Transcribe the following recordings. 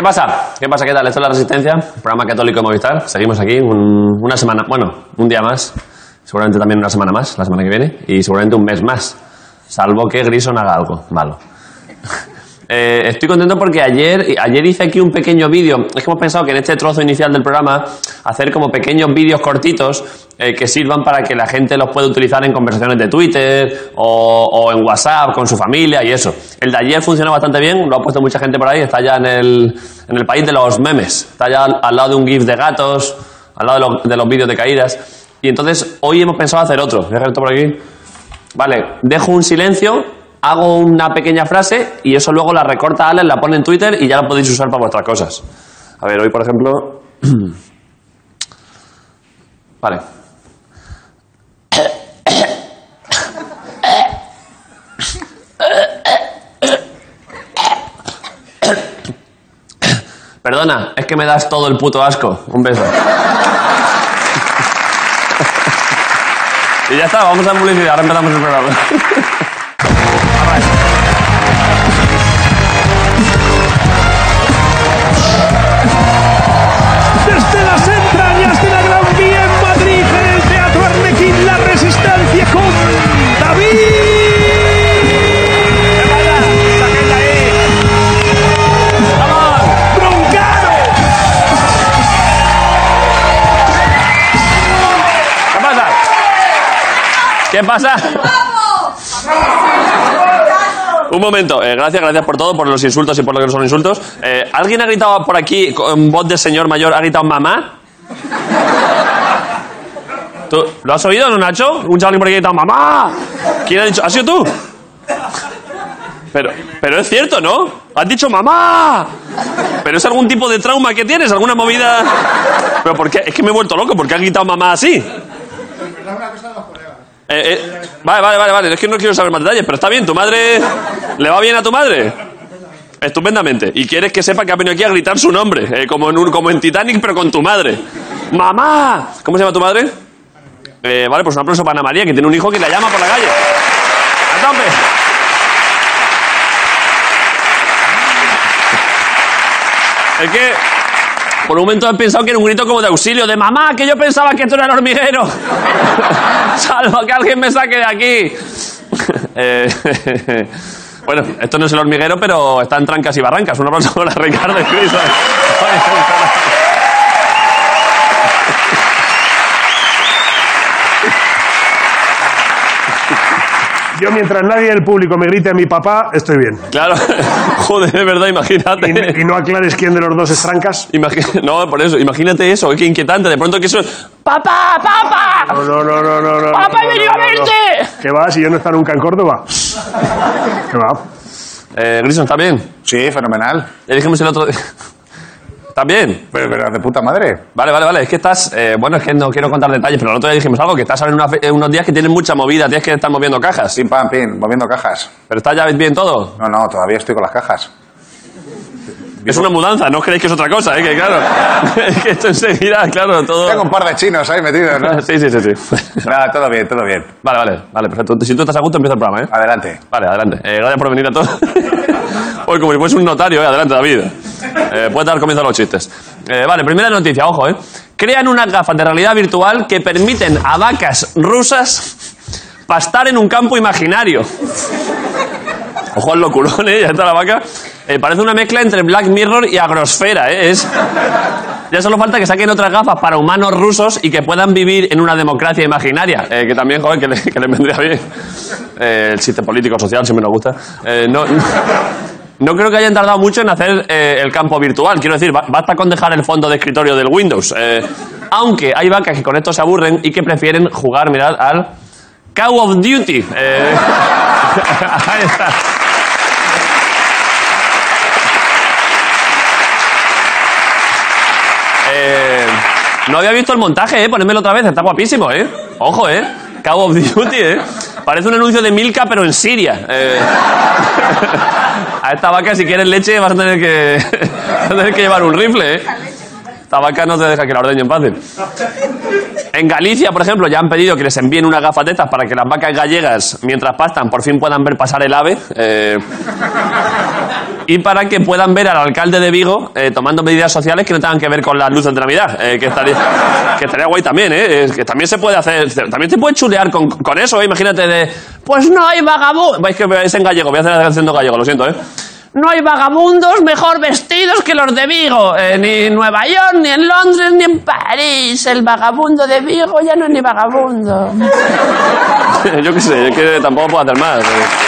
¿Qué pasa? ¿Qué pasa? ¿Qué tal? Esto es La Resistencia, programa católico de Movistar. Seguimos aquí una semana, bueno, un día más. Seguramente también una semana más, la semana que viene. Y seguramente un mes más. Salvo que Grison haga algo malo. Estoy contento porque ayer hice aquí un pequeño vídeo. Es que hemos pensado que en este trozo inicial del programa hacer como pequeños vídeos cortitos que sirvan para que la gente los pueda utilizar en conversaciones de Twitter o en WhatsApp con su familia y eso. El de ayer funcionó bastante bien, lo ha puesto mucha gente por ahí, está ya en el país de los memes, está ya al lado de un GIF de gatos, al lado de los vídeos de caídas. Y entonces hoy hemos pensado hacer otro. Voy a dejar esto por aquí. Vale, dejo un silencio. Hago una pequeña frase y eso luego la recorta Alex, la pone en Twitter y ya la podéis usar para vuestras cosas. A ver, hoy por ejemplo... Vale. Perdona, es que me das todo el puto asco. Un beso. Y ya está, vamos a publicidad, ahora empezamos el programa. Desde las entrañas de la Gran Vía en Madrid, en el Teatro Arlequín, La Resistencia con David. ¡Sáquenla ahí! ¡Vamos! ¡Broncano! ¿Qué pasa? Un momento, gracias por todo, por los insultos y por lo que no son insultos. ¿Alguien ha gritado por aquí con voz de señor mayor, ha gritado mamá? ¿Tú lo has oído, no, Nacho? Un chaval por aquí ha gritado mamá. ¿Quién ha dicho? ¿Has sido tú? Pero es cierto, ¿no? Has dicho mamá. ¿Pero es algún tipo de trauma que tienes? ¿Alguna movida? ¿Pero por qué? Es que me he vuelto loco. ¿Por qué has gritado mamá así? Vale. Es que no quiero saber más detalles, pero está bien. ¿Tu madre le va bien a tu madre? Estupendamente. Y quieres que sepa que ha venido aquí a gritar su nombre, como en Titanic, pero con tu madre. ¡Mamá! ¿Cómo se llama tu madre? Vale, pues un aplauso para Ana María, que tiene un hijo que la llama por la calle. ¡A tope! Es que por un momento he pensado que era un grito como de auxilio, de mamá, que yo pensaba que esto era el hormiguero. Salvo que alguien me saque de aquí. Bueno, esto no es el hormiguero, pero está en trancas y barrancas. Un aplauso para Ricardo y Cris. Yo, mientras nadie del público me grite a mi papá, estoy bien. Claro, joder, de verdad, imagínate. Y no aclares quién de los dos es trancas. No, por eso, imagínate eso, qué inquietante. De pronto que eso es... ¡Papá! No. ¡Papá, he venido a verte! ¿Qué va? Si yo no está nunca en Córdoba. ¿Qué va? Grison, ¿está bien? Sí, fenomenal. Ya dijimos el otro día... ¿Estás bien? Pero de puta madre. Vale. Es que estás... bueno, es que no quiero contar detalles, pero el otro día dijimos algo, que estás en unos días que tienes mucha movida, tienes que estar moviendo cajas. Pim, pam, pim, moviendo cajas. ¿Pero está ya bien todo? No, todavía estoy con las cajas. Es una mudanza, no creéis que es otra cosa, que claro. Es que esto enseguida, claro, todo... Tengo un par de chinos ahí metidos, ¿no? Sí. Nada, todo bien. Vale, perfecto. Si tú estás a gusto, empieza el programa, ¿eh? Adelante. Vale, adelante. Gracias por venir a todos. Hoy como si fuese un notario, adelante, David. Puedes dar comienzo a los chistes. Vale, primera noticia, ojo, Crean unas gafas de realidad virtual que permiten a vacas rusas pastar en un campo imaginario. Ojo al loculón, ya está la vaca. Parece una mezcla entre Black Mirror y Agrosfera, Ya solo falta que saquen otras gafas para humanos rusos y que puedan vivir en una democracia imaginaria. Que también, joder, que le vendría bien. El chiste político social siempre nos gusta. No creo que hayan tardado mucho en hacer el campo virtual. Quiero decir, basta con dejar el fondo de escritorio del Windows. Aunque hay vacas que con esto se aburren y que prefieren jugar, mirad, al Call of Duty. Ahí está. No había visto el montaje, ponedmelo otra vez, está guapísimo, Ojo, Call of Duty, Parece un anuncio de Milka, pero en Siria. A esta vaca, si quieres leche, vas a tener que llevar un rifle, Esta vaca no te deja que la ordeñen fácil. En Galicia, por ejemplo, ya han pedido que les envíen unas gafas de estas para que las vacas gallegas, mientras pastan, por fin puedan ver pasar el ave. y para que puedan ver al alcalde de Vigo tomando medidas sociales que no tengan que ver con las luces de Navidad. Que estaría guay también, que también se puede hacer, también te puedes chulear con eso, imagínate pues no hay vagabundos. Es que es en gallego, voy a hacer la canción en gallego, lo siento, No hay vagabundos mejor vestidos que los de Vigo. Ni en Nueva York, ni en Londres, ni en París. El vagabundo de Vigo ya no es ni vagabundo. Yo qué sé, es que tampoco puedo hacer más.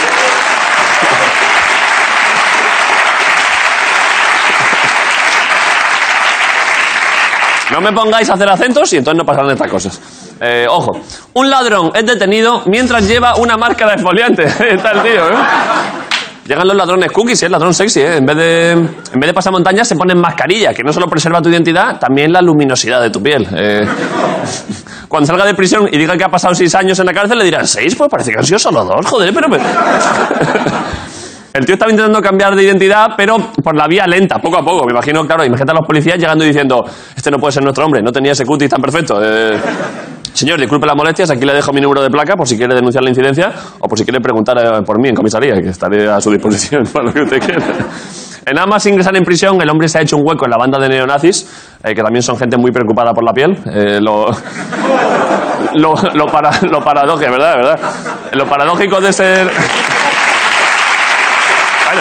No me pongáis a hacer acentos y entonces no pasarán estas cosas. Ojo, un ladrón es detenido mientras lleva una máscara exfoliante. Está el tío, Llegan los ladrones cookies, el ladrón sexy, En vez de pasar montañas se ponen mascarilla, que no solo preserva tu identidad, también la luminosidad de tu piel. Cuando salga de prisión y diga que ha pasado 6 años en la cárcel, le dirán, ¿6? Pues parece que han sido solo 2, joder, pero... El tío estaba intentando cambiar de identidad, pero por la vía lenta, poco a poco. Me imagino, claro, imagínate a los policías llegando y diciendo, este no puede ser nuestro hombre, no tenía ese cutis tan perfecto. Señor, disculpe las molestias, aquí le dejo mi número de placa por si quiere denunciar la incidencia o por si quiere preguntar por mí en comisaría, que estaré a su disposición para lo que usted quiera. Nada más ingresar en prisión, el hombre se ha hecho un hueco en la banda de neonazis, que también son gente muy preocupada por la piel. Lo paradójico, ¿verdad? Lo paradójico de ser... Bueno.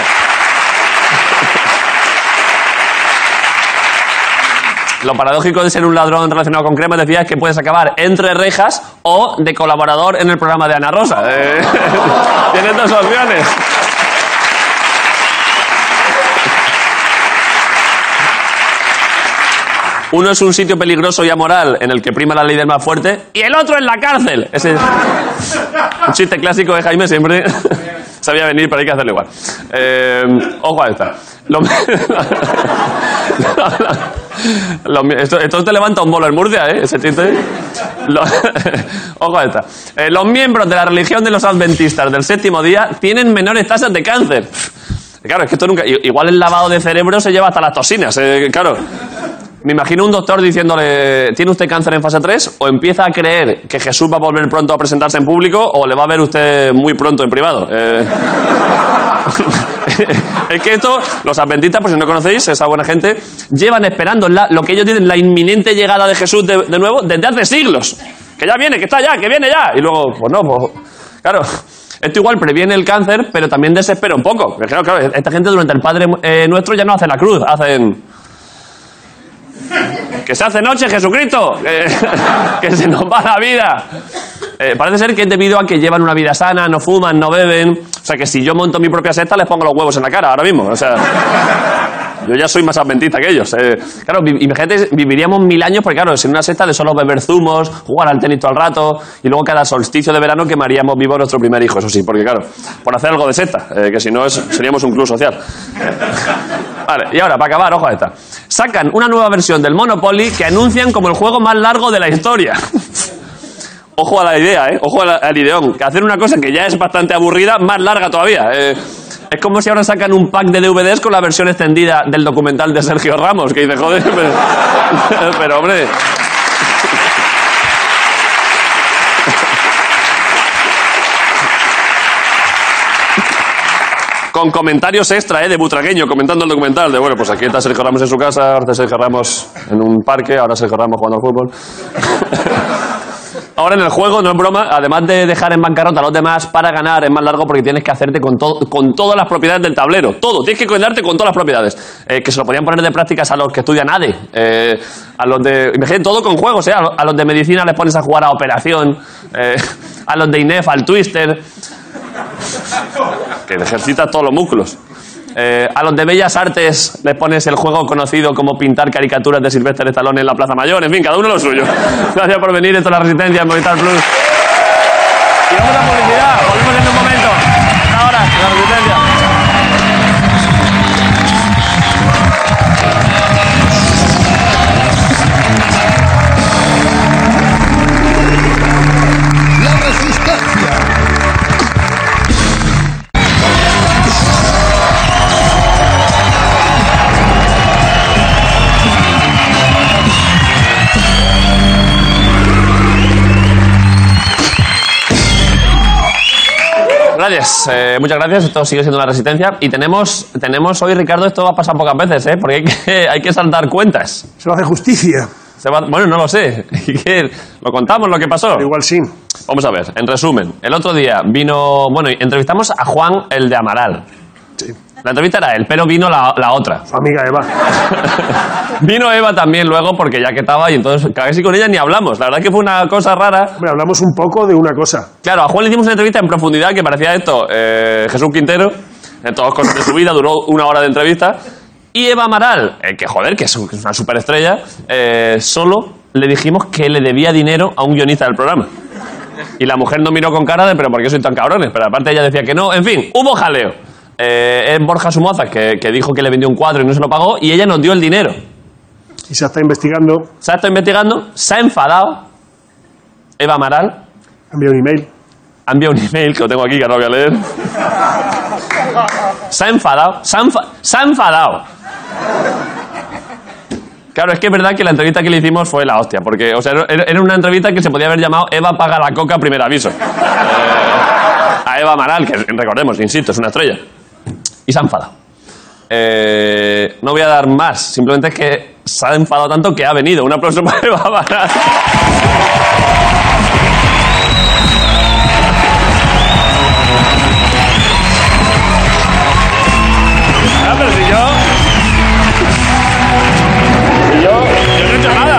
Lo paradójico de ser un ladrón relacionado con cremas, decía, es que puedes acabar entre rejas o de colaborador en el programa de Ana Rosa. Tienes 2 opciones. Uno es un sitio peligroso y amoral en el que prima la ley del más fuerte y el otro es la cárcel. Ese es un chiste clásico de Jaime, siempre sabía venir, pero hay que hacerlo igual. Ojo a esta. Esto te levanta un bolo en Murcia, ese chiste. Ojo a esta. Los miembros de la religión de los adventistas del 7º día tienen menores tasas de cáncer. Claro, es que esto nunca... Igual el lavado de cerebro se lleva hasta las toxinas, claro. Me imagino un doctor diciéndole, ¿tiene usted cáncer en fase 3? O empieza a creer que Jesús va a volver pronto a presentarse en público, o le va a ver usted muy pronto en privado. Es que esto, los adventistas, por si no conocéis, esa buena gente, llevan esperando lo que ellos dicen, la inminente llegada de Jesús de nuevo, desde hace siglos. Que ya viene, que está ya, que viene ya. Y luego, pues no, pues... Claro, esto igual previene el cáncer, pero también desespera un poco. Porque claro, esta gente durante el Padre Nuestro ya no hace la cruz, hacen... Que se hace noche, Jesucristo, que se nos va la vida. Parece ser que es debido a que llevan una vida sana, no fuman, no beben. O sea, que si yo monto mi propia secta, les pongo los huevos en la cara ahora mismo. O sea, yo ya soy más adventista que ellos. Claro, imagínate, viviríamos 1000 años, porque claro, sin una secta de solo beber zumos, jugar al tenis todo el rato, y luego cada solsticio de verano quemaríamos vivo a nuestro primer hijo, eso sí, porque claro, por hacer algo de secta, que si no seríamos un club social. Vale, y ahora, para acabar, ojo a esta. Sacan una nueva versión del Monopoly que anuncian como el juego más largo de la historia. Ojo a la idea, ojo al ideón. Que hacer una cosa que ya es bastante aburrida, más larga todavía. Es como si ahora sacan un pack de DVDs con la versión extendida del documental de Sergio Ramos, que dice, joder, pero hombre... Con comentarios extra, de Butragueño, comentando el documental. De bueno, pues aquí está Sergio Ramos en su casa, ahora está Sergio Ramos en un parque, ahora Sergio Ramos jugando al fútbol. Ahora en el juego, no es broma, además de dejar en bancarrota a los demás, para ganar es más largo porque tienes que hacerte con todas las propiedades del tablero. Todo, tienes que quedarte con todas las propiedades. Que se lo podían poner de prácticas a los que estudian ADE. A los de... Imagínate, todo con juegos, A los de medicina les pones a jugar a Operación. A los de INEF, al Twister... que ejercitas todos los músculos. A los de Bellas Artes les pones el juego conocido como pintar caricaturas de Sylvester Stallone en la Plaza Mayor. En fin, cada uno lo suyo. Gracias por venir. Esto es La Resistencia en Movistar Plus. Y vamos a publicidad. Volvemos en un momento. Ahora, La Resistencia. gracias. Muchas gracias. Esto sigue siendo La Resistencia. Y tenemos hoy, Ricardo, esto va a pasar pocas veces, ¿eh? Porque hay que saltar cuentas. Se lo hace justicia. Bueno, no lo sé. ¿Lo contamos lo que pasó? Pero igual sí. Vamos a ver, en resumen. El otro día vino... Bueno, entrevistamos a Juan, el de Amaral. Sí. La entrevista era él, pero vino la otra. Su amiga Eva. Vino Eva también luego porque ya que estaba y entonces casi con ella ni hablamos. La verdad es que fue una cosa rara. Hombre, hablamos un poco de una cosa. Claro, a Juan le hicimos una entrevista en profundidad que parecía esto. Jesús Quintero, en todas cosas de su vida, duró 1 hora de entrevista. Y Eva Amaral, que joder, que es una superestrella, solo le dijimos que le debía dinero a un guionista del programa. Y la mujer nos miró con cara de, pero ¿por qué sois tan cabrones? Pero aparte ella decía que no. En fin, hubo jaleo. Es Borja Somoza que dijo que le vendió un cuadro y no se lo pagó y ella nos dio el dinero. Y se está investigando. Se ha estado investigando, se ha enfadado. Eva Amaral Ha enviado un email. ha enviado un email que lo tengo aquí que no lo voy a leer. Se ha enfadado. Se ha enfadado. Claro, es que es verdad que la entrevista que le hicimos fue la hostia, porque o sea, era una entrevista que se podía haber llamado Eva paga la coca primer aviso. A Eva Amaral, que recordemos, insisto, es una estrella. Y se ha enfadado. No voy a dar más, simplemente es que se ha enfadado tanto que ha venido. Un aplauso para Eva Amaral. Ah, pero si yo no he hecho nada.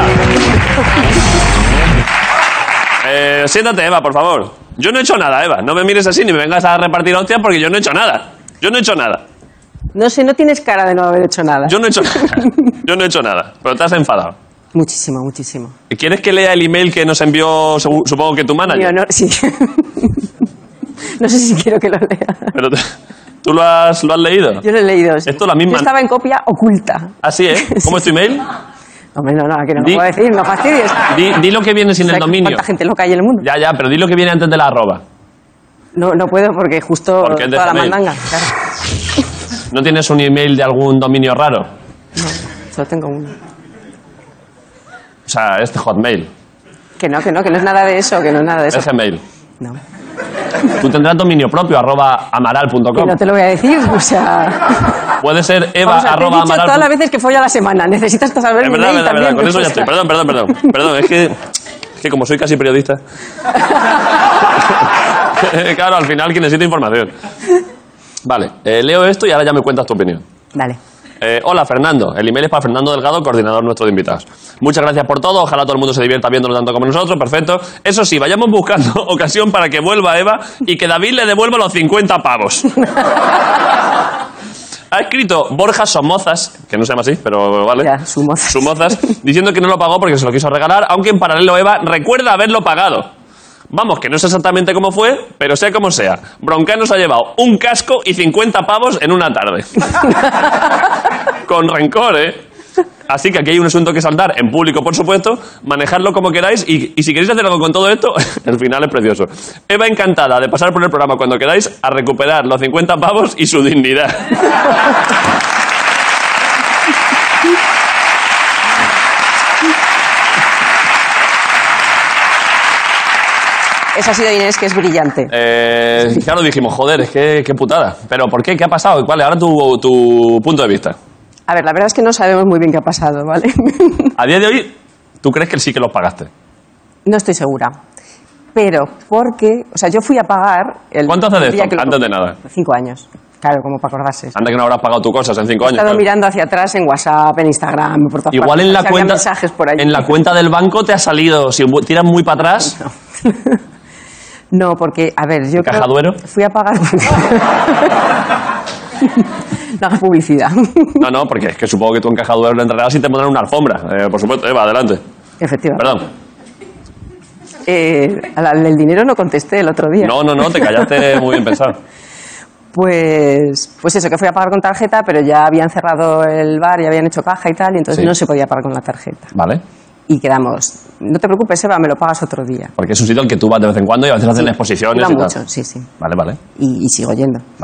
Siéntate, Eva, por favor. Yo no he hecho nada, Eva. No me mires así ni me vengas a repartir hostias porque yo no he hecho nada. Yo no he hecho nada. No sé, no tienes cara de no haber hecho nada. Yo no he hecho nada. Yo no he hecho nada. Pero te has enfadado. Muchísimo, muchísimo. ¿Quieres que lea el email que nos envió, supongo que tu manager? Mi honor, sí. No sé si quiero que lo lea. Pero ¿tú lo has leído? Yo lo he leído. Sí. Esto la misma... Yo estaba en copia oculta. Así, ¿eh? ¿Cómo es tu email? Hombre, no, que no lo puedo decir, no fastidies. Di lo que viene sin el dominio. ¿Cuánta gente loca hay en el mundo? Ya, pero di lo que viene antes de la arroba. No puedo porque justo Porque es de toda la Gmail. mandanga. Claro. ¿No tienes un email de algún dominio raro? No, solo tengo uno. O sea, este Hotmail. Que no es nada de eso, que no es nada de eso. Es Gmail. No. Tú tendrás dominio propio, @amaral.com. Que no te lo voy a decir, o sea... Puede ser eva Vamos, te he dicho @amaral. todas las veces que folla la semana. Necesitas saber Es mi verdad, mail también. con eso ya estoy. Perdón. Perdón, es que como soy casi periodista... Claro, al final que necesito información. Vale, leo esto y ahora ya me cuentas tu opinión. Dale. Hola, Fernando. El email es para Fernando Delgado, coordinador nuestro de invitados. Muchas gracias por todo. Ojalá todo el mundo se divierta viéndolo tanto como nosotros. Perfecto. Eso sí, vayamos buscando ocasión para que vuelva Eva y que David le devuelva los 50 pavos. Ha escrito Borja Somozas, que no se llama así, pero vale. Ya, Somozas. Diciendo que no lo pagó porque se lo quiso regalar, aunque en paralelo Eva recuerda haberlo pagado. Vamos, que no sé exactamente cómo fue, pero sea como sea. Broncano se ha llevado un casco y 50 pavos en una tarde. Con rencor, ¿eh? Así que aquí hay un asunto que saldar, en público, por supuesto, manejarlo como queráis y si queréis hacer algo con todo esto, el final es precioso. Eva encantada de pasar por el programa cuando queráis a recuperar los 50 pavos y su dignidad. Esa ha sido Inés, que es brillante. Claro, dijimos, joder, es que qué putada. ¿Pero por qué? ¿Qué ha pasado? ¿Cuál es ahora tu punto de vista? A ver, la verdad es que no sabemos muy bien qué ha pasado, ¿vale? A día de hoy, ¿tú crees que sí que los pagaste? No estoy segura. Pero porque... O sea, yo fui a pagar... ¿Cuánto hace de día esto? que lo Antes de compré. nada. 5 años. Claro, como para acordarse. Anda que no habrás pagado tus cosas en 5 He años. estado claro. mirando hacia atrás en WhatsApp, en Instagram, por todas Igual partes, en la si había cuenta, mensajes por ahí. en la cuenta del banco te ha salido, si tiras muy para atrás, No, porque, a ver, yo ¿Caja creo- Duero? fui a pagar... No hagas publicidad. no, porque es que supongo que tú en Caja Duero lo entrarás y te pondrán una alfombra, por supuesto. Eva, adelante. Efectivamente. Perdón. El dinero no contesté el otro día. No, te callaste muy bien pensado. Pues eso, que fui a pagar con tarjeta, pero ya habían cerrado el bar, ya habían hecho caja y tal, y entonces Sí. no se podía pagar con la tarjeta. Vale. Y quedamos, no te preocupes, Eva, me lo pagas otro día. Porque es un sitio al que tú vas de vez en cuando y a veces hacen exposiciones Iba y tal. mucho, sí. Vale. Y sigo yendo. Vale.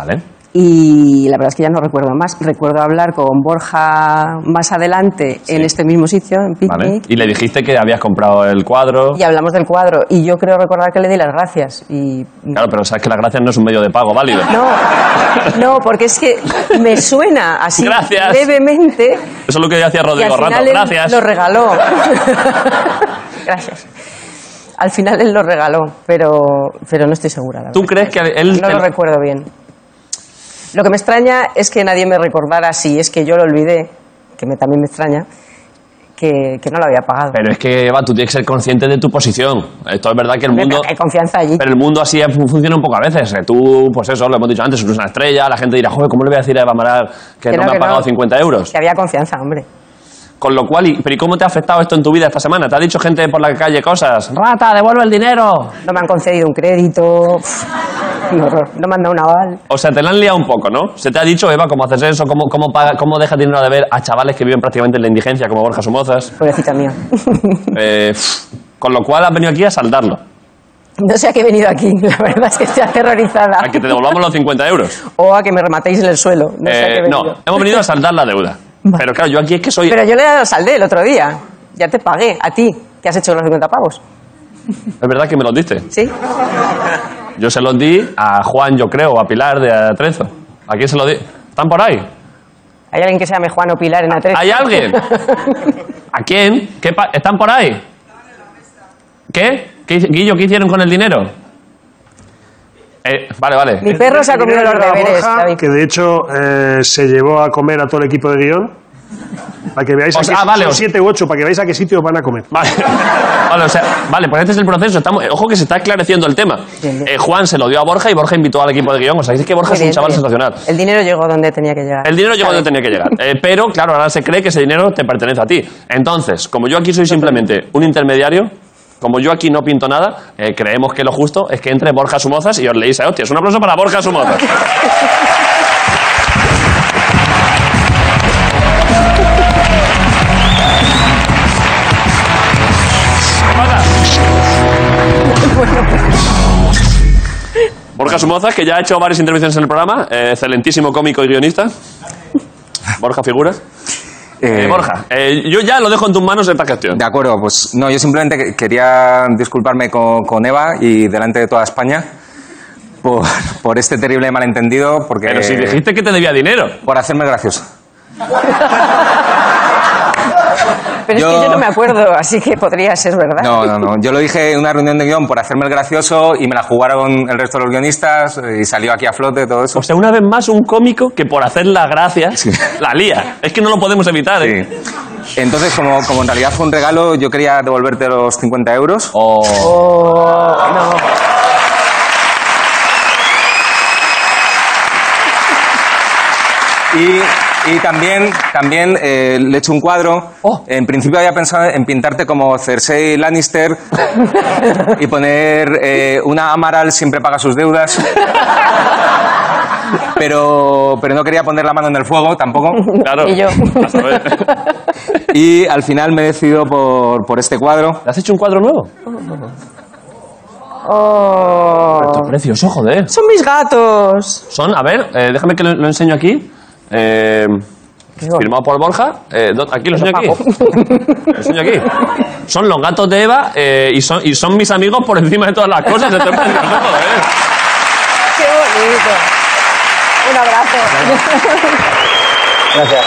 Y la verdad es que ya no recuerdo más. Recuerdo hablar con Borja más adelante en este mismo sitio, en Picnic. Vale. Y le dijiste que habías comprado el cuadro. Y hablamos del cuadro. Y yo creo recordar que le di las gracias. Y... Claro, pero sabes que las gracias no es un medio de pago válido. No, porque es que me suena así Gracias. levemente. Eso es lo que hacía Y Rodrigo al Rato. final él Gracias. lo regaló. Gracias. Al final él lo regaló, pero no estoy segura. La ¿Tú verdad. crees que él... No lo recuerdo bien. Lo que me extraña es que nadie me recordara, si es que yo lo olvidé, que también me extraña, que no lo había pagado. Pero es que, Eva, tú tienes que ser consciente de tu posición. Esto es verdad que el Hombre, mundo... pero hay confianza allí. Pero el mundo así funciona un poco a veces. Tú, pues eso, lo hemos dicho antes, eres una estrella, la gente dirá, joder, ¿cómo le voy a decir a Eva Amaral que no me ha pagado 50 euros? Que había confianza, hombre. Con lo cual, ¿pero y cómo te ha afectado esto en tu vida esta semana? ¿Te ha dicho gente por la calle cosas? ¡Rata, devuelve el dinero! No me han concedido un crédito. Un horror. No me han dado un aval. O sea, te la han liado un poco, ¿no? Se te ha dicho, Eva, cómo haces eso, cómo dejas dinero de ver a chavales que viven prácticamente en la indigencia, como Borja Somozas. Pobrecita mía. Con lo cual has venido aquí a saldarlo. No sé a qué he venido aquí. La verdad es que estoy aterrorizada. A que te devolvamos los 50 euros. O a que me rematéis en el suelo. No sé a qué he venido. No, hemos venido a saldar la deuda. Pero claro, yo aquí es que soy... Pero yo le he dado saldé el otro día. Ya te pagué, a ti, que has hecho los 50 pavos. Es verdad que me los diste. ¿Sí? Yo se los di a Juan, yo creo, o a Pilar de Atrezo. ¿A quién se los di? ¿Están por ahí? ¿Hay alguien que se llame Juan o Pilar en Atrezo? ¿Hay alguien? ¿A quién? ¿Están por ahí? ¿Qué? Guillo, ¿qué hicieron con el dinero? Vale. Mi perro se ha comido los deberes, Borja, David. que de hecho se llevó a comer a todo el equipo de guión. Para que veáis O sea, vale, son 7 u 8, para que veáis a qué sitio van a comer. Vale, pues este es el proceso. Ojo que se está esclareciendo el tema. Bien. Juan se lo dio a Borja y Borja invitó al equipo de guión. O sea, es que Borja Muy es un bien, chaval muy bien. sensacional. El dinero llegó donde tenía que llegar. El dinero llegó donde tenía que llegar. Pero, claro, ahora se cree que ese dinero te pertenece a ti. Entonces, como yo aquí soy simplemente un intermediario, como yo aquí no pinto nada, creemos que lo justo es que entre Borja Somozas y os leéis a hostias. Un aplauso para Borja Somozas. Borja Somozas, que ya ha hecho varias intervenciones en el programa, excelentísimo cómico y guionista. Borja, figura. Borja, yo ya lo dejo en tus manos esta gestión. De acuerdo, pues no, yo simplemente quería disculparme con Eva y delante de toda España por este terrible malentendido, porque... Pero si dijiste que te debía dinero. Por hacerme gracioso. Pero es que yo no me acuerdo, así que podría ser verdad. No. Yo lo dije en una reunión de guión por hacerme el gracioso y me la jugaron el resto de los guionistas y salió aquí a flote todo eso. O sea, una vez más un cómico que por hacer las gracias la lía. Es que no lo podemos evitar, ¿eh? Sí. Entonces, como en realidad fue un regalo, yo quería devolverte los 50 euros. No. Y también le he hecho un cuadro. En principio había pensado en pintarte como Cersei Lannister y poner una Amaral siempre paga sus deudas. Pero no quería poner la mano en el fuego tampoco. Claro. Y yo. A saber. Y al final me he decidido por este cuadro. ¿Le has hecho un cuadro nuevo? Esto es precioso, joder. Son mis gatos. Son, a ver, déjame que lo enseño aquí. Firmado por Borja. Aquí lo enseño aquí. Lo enseño aquí. Son los gatos de Eva y son mis amigos por encima de todas las cosas. Esto es precioso, joder. Qué bonito. Un abrazo. Gracias.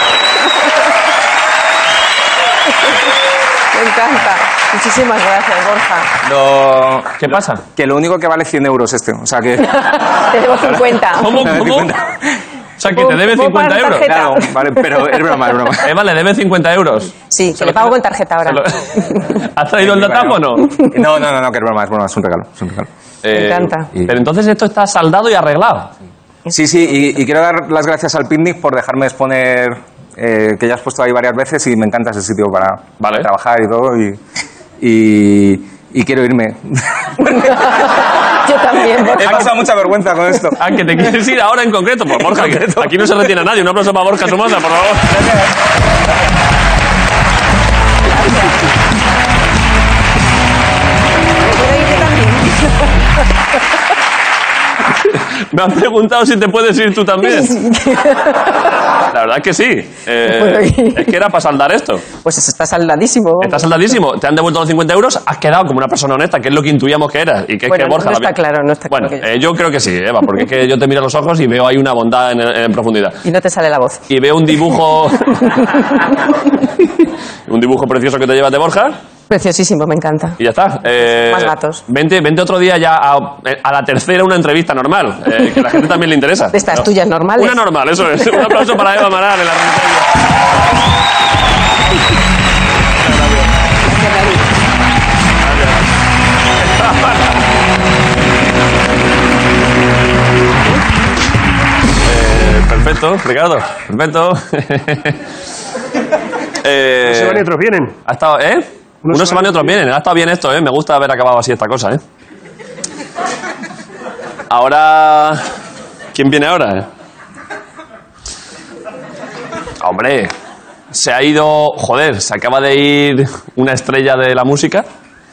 Me encanta. Muchísimas gracias, Borja. ¿Qué pasa? Que lo único que vale 100 euros este. O sea que... Te debo 50. ¿Cómo? Me doy cuenta. O sea, que te debe 50 euros. tarjeta? Claro, vale, pero es broma. Eva le debe 50 euros. Sí, que le pago con tarjeta ahora. ¿Has traído el datáfono o no? No, que es broma, es un regalo. Me encanta. Pero entonces esto está saldado y arreglado. Sí, y quiero dar las gracias al Picnic por dejarme exponer, que ya has puesto ahí varias veces y me encanta ese sitio para trabajar y todo. Y quiero irme. Yo también, Borja. He pasado mucha vergüenza con esto. Ah, que te quieres ir ahora en concreto. Pues Borja, aquí no se retiene a nadie. Un aplauso para Borja Somoza, por favor. ¿Me puedo ir yo también? Me han preguntado si te puedes ir tú también. La verdad es que sí. Es que era para saldar esto. Pues eso está saldadísimo. Vamos. Está saldadísimo. Te han devuelto los 50 euros. Has quedado como una persona honesta, que es lo que intuíamos que eras. Y que Bueno, es que Borja no está también. claro, no está Bueno, claro yo creo que sí, Eva, porque es que yo te miro a los ojos y veo ahí una bondad en profundidad. Y no te sale la voz. Y veo un dibujo. Un dibujo precioso que te llevas de Borja. Preciosísimo, me encanta. Y ya está. Más gatos. Vente otro día ya a la tercera una entrevista normal, que a la gente también le interesa. De estas tuyas normales. Una normal, eso es. Un aplauso para Eva Amaral en la resistencia. Perfecto, Ricardo. Perfecto. Se van y otros vienen. Ha estado, Unos se van y otros vienen. Ha estado bien esto, Me gusta haber acabado así esta cosa, Ahora... ¿Quién viene ahora, Hombre, se ha ido... Joder, se acaba de ir una estrella de la música.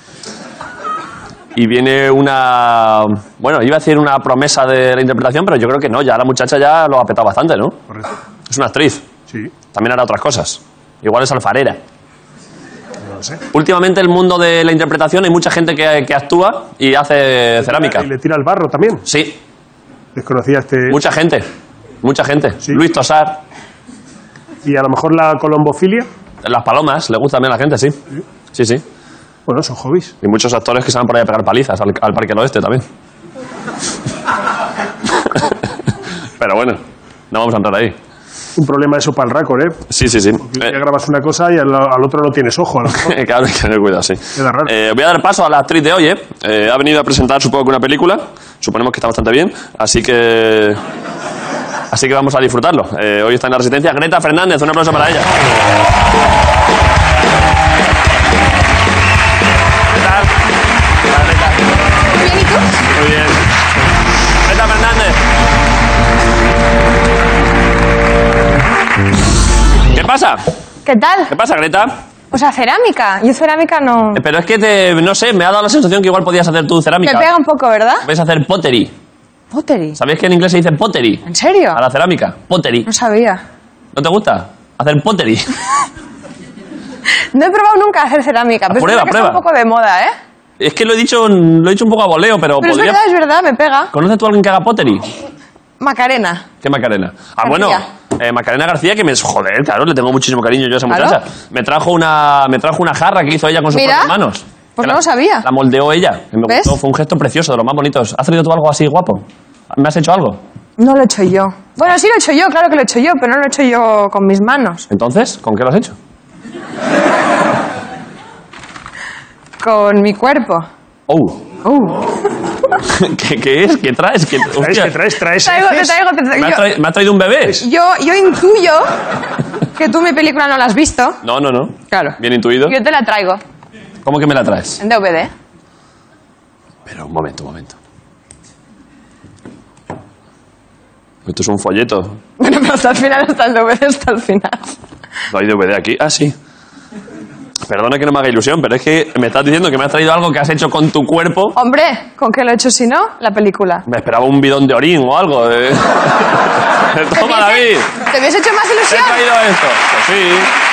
Y viene una... Bueno, iba a decir una promesa de la interpretación, pero yo creo que no. Ya la muchacha ya lo ha petado bastante, ¿no? Correcto. Es una actriz. Sí, También hará otras cosas. Igual es alfarera. no lo sé. Últimamente el mundo de la interpretación hay mucha gente que actúa y hace cerámica. Y le tira el barro también. Sí, Desconocía este... mucha gente. Mucha gente. Sí. Luis Tosar, Y a lo mejor la colombofilia. las palomas, le gusta también a la gente, sí. Sí, sí. Bueno, son hobbies. Y muchos actores que se van por ahí a pegar palizas al Parque del Oeste también. Pero bueno, no vamos a entrar ahí. Un problema eso para el récord, ¿eh? Sí, sí, sí. Ya grabas una cosa y al otro no tienes ojo. A lo mejor. Claro, hay que tener cuidado, sí. Queda raro. Voy a dar paso a la actriz de hoy, Ha venido a presentar, supongo que una película. Suponemos que está bastante bien. Así que vamos a disfrutarlo. Hoy está en la Resistencia Greta Fernández. Un aplauso para ella. ¿Qué tal? Hola, Greta. Muy bien, ¿y tú? Muy bien. Greta Fernández. ¿Qué pasa? ¿Qué tal? ¿Qué pasa, Greta? O sea, cerámica. Yo cerámica no... Pero es que no sé, me ha dado la sensación que igual podías hacer tú cerámica. Me pega un poco, ¿verdad? Puedes hacer pottery. Pottery. ¿Sabías que en inglés se dice pottery? ¿En serio? A la cerámica. Pottery. No sabía. ¿No te gusta? Hacer pottery. No he probado nunca hacer cerámica, pero Prueba, es verdad que prueba. está un poco de moda, ¿eh? Es que lo he dicho un poco a voleo, pero Pero podría... es verdad, me pega. ¿Conoces tú a alguien que haga pottery? Macarena. ¿Qué Macarena? Ah, García. bueno, Macarena García, que me... Joder, claro, le tengo muchísimo cariño yo a esa Claro. muchacha. Me trajo una jarra que hizo ella con sus Mira, propias manos. pues Que no la- lo sabía. La moldeó ella. Que me ¿Ves? gustó, fue un gesto precioso, de los más bonitos. ¿Has traído tú algo así guapo? ¿Me has hecho algo? No lo he hecho yo. Bueno, sí lo he hecho yo, claro que lo he hecho yo, pero no lo he hecho yo con mis manos. Entonces, ¿con qué lo has hecho? Con mi cuerpo. Oh. ¿Qué es? ¿Qué traes? Hostia, Traes Te traigo. ¿Me has traído un bebé? Yo intuyo que tú mi película no la has visto. No. Claro. Bien intuido. Yo te la traigo ¿Cómo que me la traes? en DVD. Pero un momento. Esto es un folleto. Bueno, pero hasta el final está el DVD, hasta el final. ¿No hay DVD aquí? Ah, sí. Perdona que no me haga ilusión, pero es que me estás diciendo que me has traído algo que has hecho con tu cuerpo. Hombre, ¿con qué lo he hecho si no? La película. Me esperaba un bidón de orín o algo. Toma, David. ¿Te hubiese hecho más Te he ilusión? traído esto. Pues sí.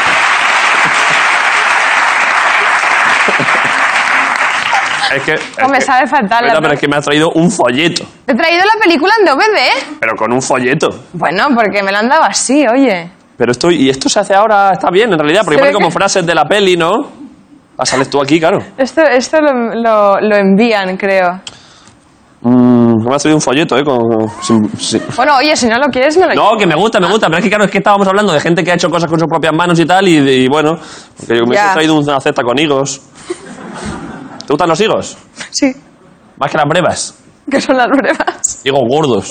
Es que... No me sabe faltar la... Pero es que me has traído un folleto. Te he traído la película en DVD. Pero con un folleto. Bueno, porque me la han dado así, oye. Pero esto se hace ahora, está bien en realidad, porque Se pone ve como que- frases de la peli, ¿no? Ah, sales tú aquí, claro. Esto lo envían, creo. Me has traído un folleto, ¿eh? Bueno, oye, si no lo quieres, me lo No, que me gusta, pero es que claro, es que estábamos hablando de gente que ha hecho cosas con sus propias manos y tal, y bueno, porque me Ya. he traído una cesta con higos. ¿Te gustan los higos? Sí, Más que las brevas. que son las pruebas. Higos gordos.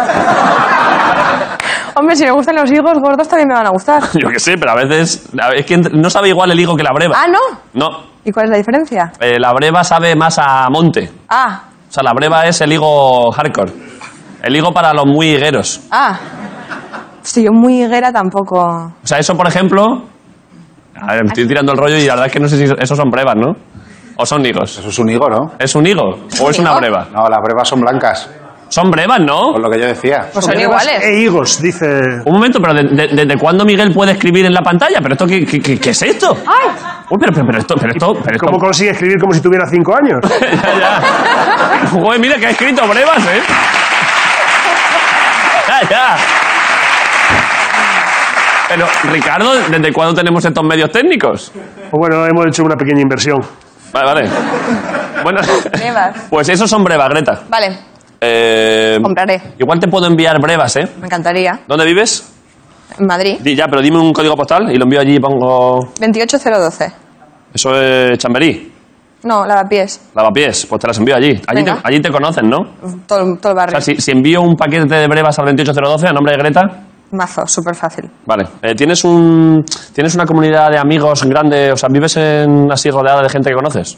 Hombre, si me gustan los higos gordos también me van a gustar. Yo qué sé, pero a veces... Es que no sabe igual el higo que la breva. Ah, ¿no? No, ¿Y cuál es la diferencia? la breva sabe más a monte. Ah, O sea, la breva es el higo hardcore. El higo para los muy higueros. Hostia, yo muy higuera tampoco. O sea, eso, por ejemplo... A ver, me estoy tirando el rollo y la verdad es que no sé si esos son brevas, ¿no? ¿O son higos? Eso es un higo, ¿no? ¿Es un higo o es una higo? breva? No, las brevas son blancas. Son brevas, ¿no? Por lo que yo decía. Pues son Brevas iguales. E higos, dice. Un momento, pero ¿desde cuándo Miguel puede escribir en la pantalla? ¿Pero esto qué es esto? ¡Ay! Uy, pero esto... ¿Cómo consigue escribir como si tuviera 5 años? ya. Joder, mira que ha escrito brevas, ¿eh? Ya. Pero, Ricardo, ¿desde cuándo tenemos estos medios técnicos? Pues bueno, hemos hecho una pequeña inversión. Vale. Bueno, Brevas. pues esos son brevas, Greta. Vale, compraré. Igual te puedo enviar brevas, ¿eh? Me encantaría. ¿Dónde vives? En Madrid. Ya, pero dime un código postal y lo envío allí y pongo... 28012. Eso es Chamberí, No, Lavapiés. Lavapiés, pues te las envío allí. Venga. Allí te conocen, ¿no? Todo el O barrio. sea, si envío un paquete de brevas al 28012 a nombre de Greta... Mazo, súper fácil. Vale. ¿Tienes una comunidad de amigos grande? O sea, ¿vives así rodeada de gente que conoces?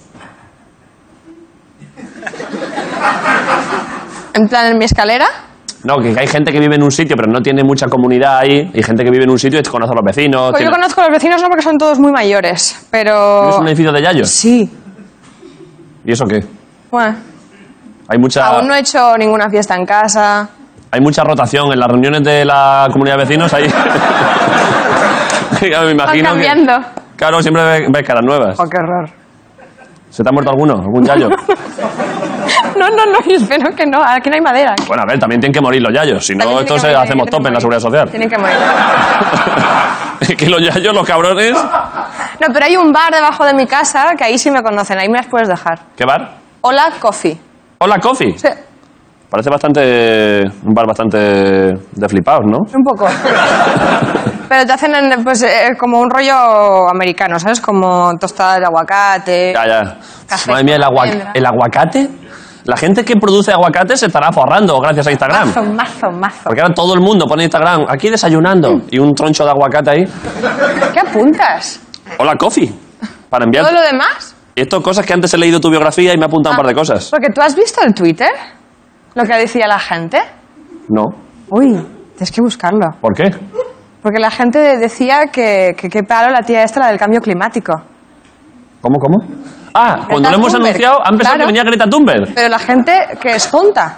En plan, en mi escalera. No, que hay gente que vive en un sitio pero no tiene mucha comunidad ahí y gente que vive en un sitio y conoce a los vecinos. Pues yo conozco a los vecinos no porque son todos muy mayores, pero... ¿Vives en un edificio de yayos? Sí. ¿Y eso qué? Bueno, Hay mucha... aún no he hecho ninguna fiesta en casa. Hay mucha rotación en las reuniones de la comunidad de vecinos ahí. Ya me imagino Van cambiando. Claro, siempre ves caras nuevas. Oh, qué horror. ¿Se te ha muerto alguno? ¿Algún yayo? No, espero que no. Aquí no hay madera. Bueno, a ver, también tienen que morir los yayos. Si no, También tienen esto que morir, hacemos tienen tope que en la morir. seguridad social. Tienen que morir. Es que los yayos, los cabrones... No, pero hay un bar debajo de mi casa que ahí sí me conocen. Ahí me las puedes dejar. ¿Qué bar? Hola, Coffee. Hola, Coffee. Sí, Parece un bar bastante de flipados, ¿no? un poco. Pero te hacen como un rollo americano, ¿sabes? Como tostada de aguacate. Ya. Café Madre mía, con almendra. el aguacate. La gente que produce aguacate se estará forrando gracias a Instagram. Mazo. Porque ahora todo el mundo pone Instagram, aquí desayunando, y un troncho de aguacate ahí. ¿Qué apuntas? Hola, Coffee. Para enviar... ¿Todo lo demás? Esto cosas que antes he leído tu biografía y me ha apuntado un par de cosas. Porque tú has visto el Twitter, lo que decía la gente. No. Uy, tienes que buscarlo. ¿Por qué? Porque la gente decía que qué paro la tía esta, la del cambio climático. ¿Cómo? Ah, cuando lo hemos Thunberg. anunciado, han pensado Claro. que venía Greta Thunberg. Pero la gente que es tonta.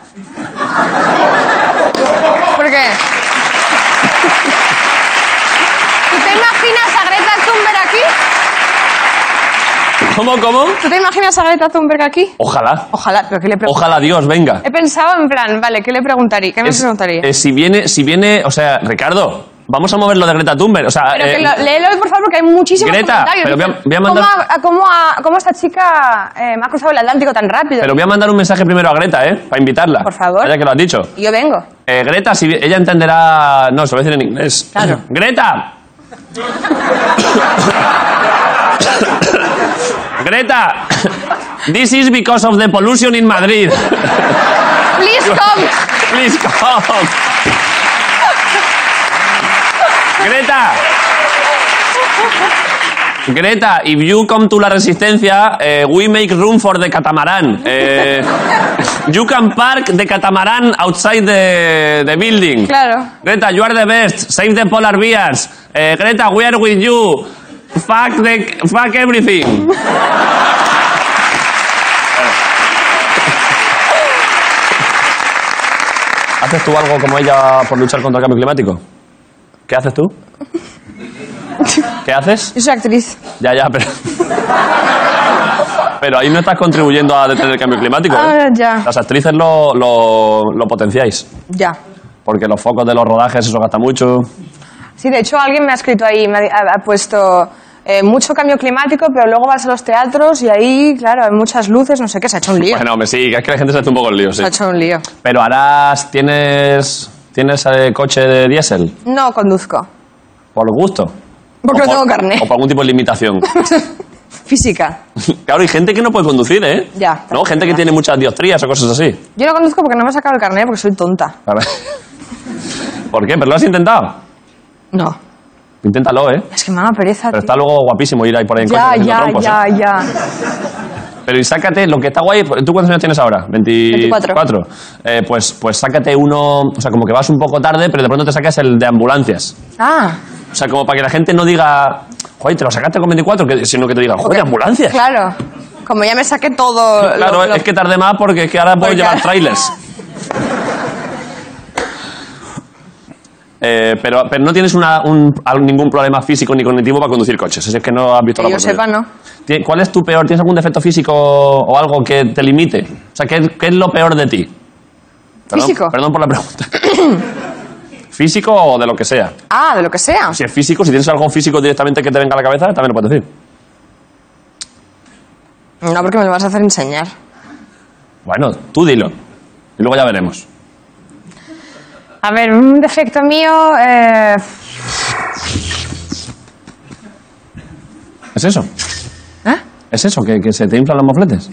¿Por qué? ¿Tú te imaginas a Greta Thunberg aquí? ¿Cómo? ¿Tú te imaginas a Greta Thunberg aquí? Ojalá. Ojalá, pero ¿qué le preguntaría? Ojalá Dios venga. He pensado en plan, vale, ¿qué le preguntaría? ¿Qué me preguntaría? Si viene, o sea, Ricardo, vamos a mover lo de Greta Thunberg. O sea, Pero léelo, por favor, porque hay muchísimos Greta, comentarios. pero Dicen, voy a mandar- ¿Cómo esta chica me ha cruzado el Atlántico tan rápido? pero voy a mandar un mensaje primero a Greta, para invitarla. Por favor. Ya que lo has dicho. Y yo vengo. Greta, ella entenderá... No, se lo voy a decir en inglés. Claro. ¡Greta! Greta, this is because of the pollution in Madrid. Please come. Please come. Greta, if you come to La Resistencia, we make room for the catamaran. You can park the catamaran outside the building. Claro. Greta, you are the best. Save the polar bears. Greta, we are with you. Fuck everything. ¿Haces tú algo como ella por luchar contra el cambio climático? ¿Qué haces tú? ¿Qué haces? Yo soy actriz. Ya, pero... Pero ahí no estás contribuyendo a detener el cambio climático, ¿eh? Ah, ya. Las actrices lo potenciáis. Ya. Porque los focos de los rodajes, eso gasta mucho. Sí, de hecho alguien me ha escrito ahí, ha puesto mucho cambio climático, pero luego vas a los teatros y ahí, claro, hay muchas luces, no sé qué, se ha hecho un lío. Bueno, hombre, sí, que es que la gente se hace un poco el lío, sí. Se ha hecho un lío. Pero ¿tienes coche de diésel? No conduzco. ¿Por gusto? Porque ¿O no tengo por- carné. ¿O por algún tipo de limitación? Física. Claro, hay gente que no puede conducir, ¿eh? Ya, ¿No? Gente que tiene muchas dioptrías o cosas así. Yo no conduzco porque no me he sacado el carné porque soy tonta. A ver. ¿Por qué? ¿Pero lo has intentado? No. Inténtalo, ¿eh? Es que me da pereza. Pero tío. está luego guapísimo ir ahí por ahí en coche haciendo trompos, ¿eh? Ya. Pero y sácate, lo que está guay... ¿Tú cuántos años tienes ahora? 24. Pues sácate uno... O sea, como que vas un poco tarde, pero de pronto te sacas el de ambulancias. Ah. O sea, como para que la gente no diga... Joder, te lo sacaste con 24, sino que te diga, joder, ambulancias. Claro. Como ya me saqué todo... Claro, es que tardé más porque es que ahora puedo Porque- llevar trailers. pero no tienes ningún problema físico ni cognitivo para conducir coches. Es que no has visto Que la yo sepa, no. ¿Cuál es tu peor? ¿Tienes algún defecto físico o algo que te limite? O sea, ¿qué es lo peor de ti? ¿Físico? Perdón por la pregunta. ¿Físico o de lo que sea? Ah, de lo que sea. Si es físico, si tienes algo físico directamente que te venga a la cabeza, también lo puedes decir. No, porque me lo vas a hacer enseñar. Bueno, tú dilo. Y luego ya veremos. A ver, un defecto mío... ¿Es eso? ¿Eh? ¿Es eso? ¿Que se te inflan los mofletes?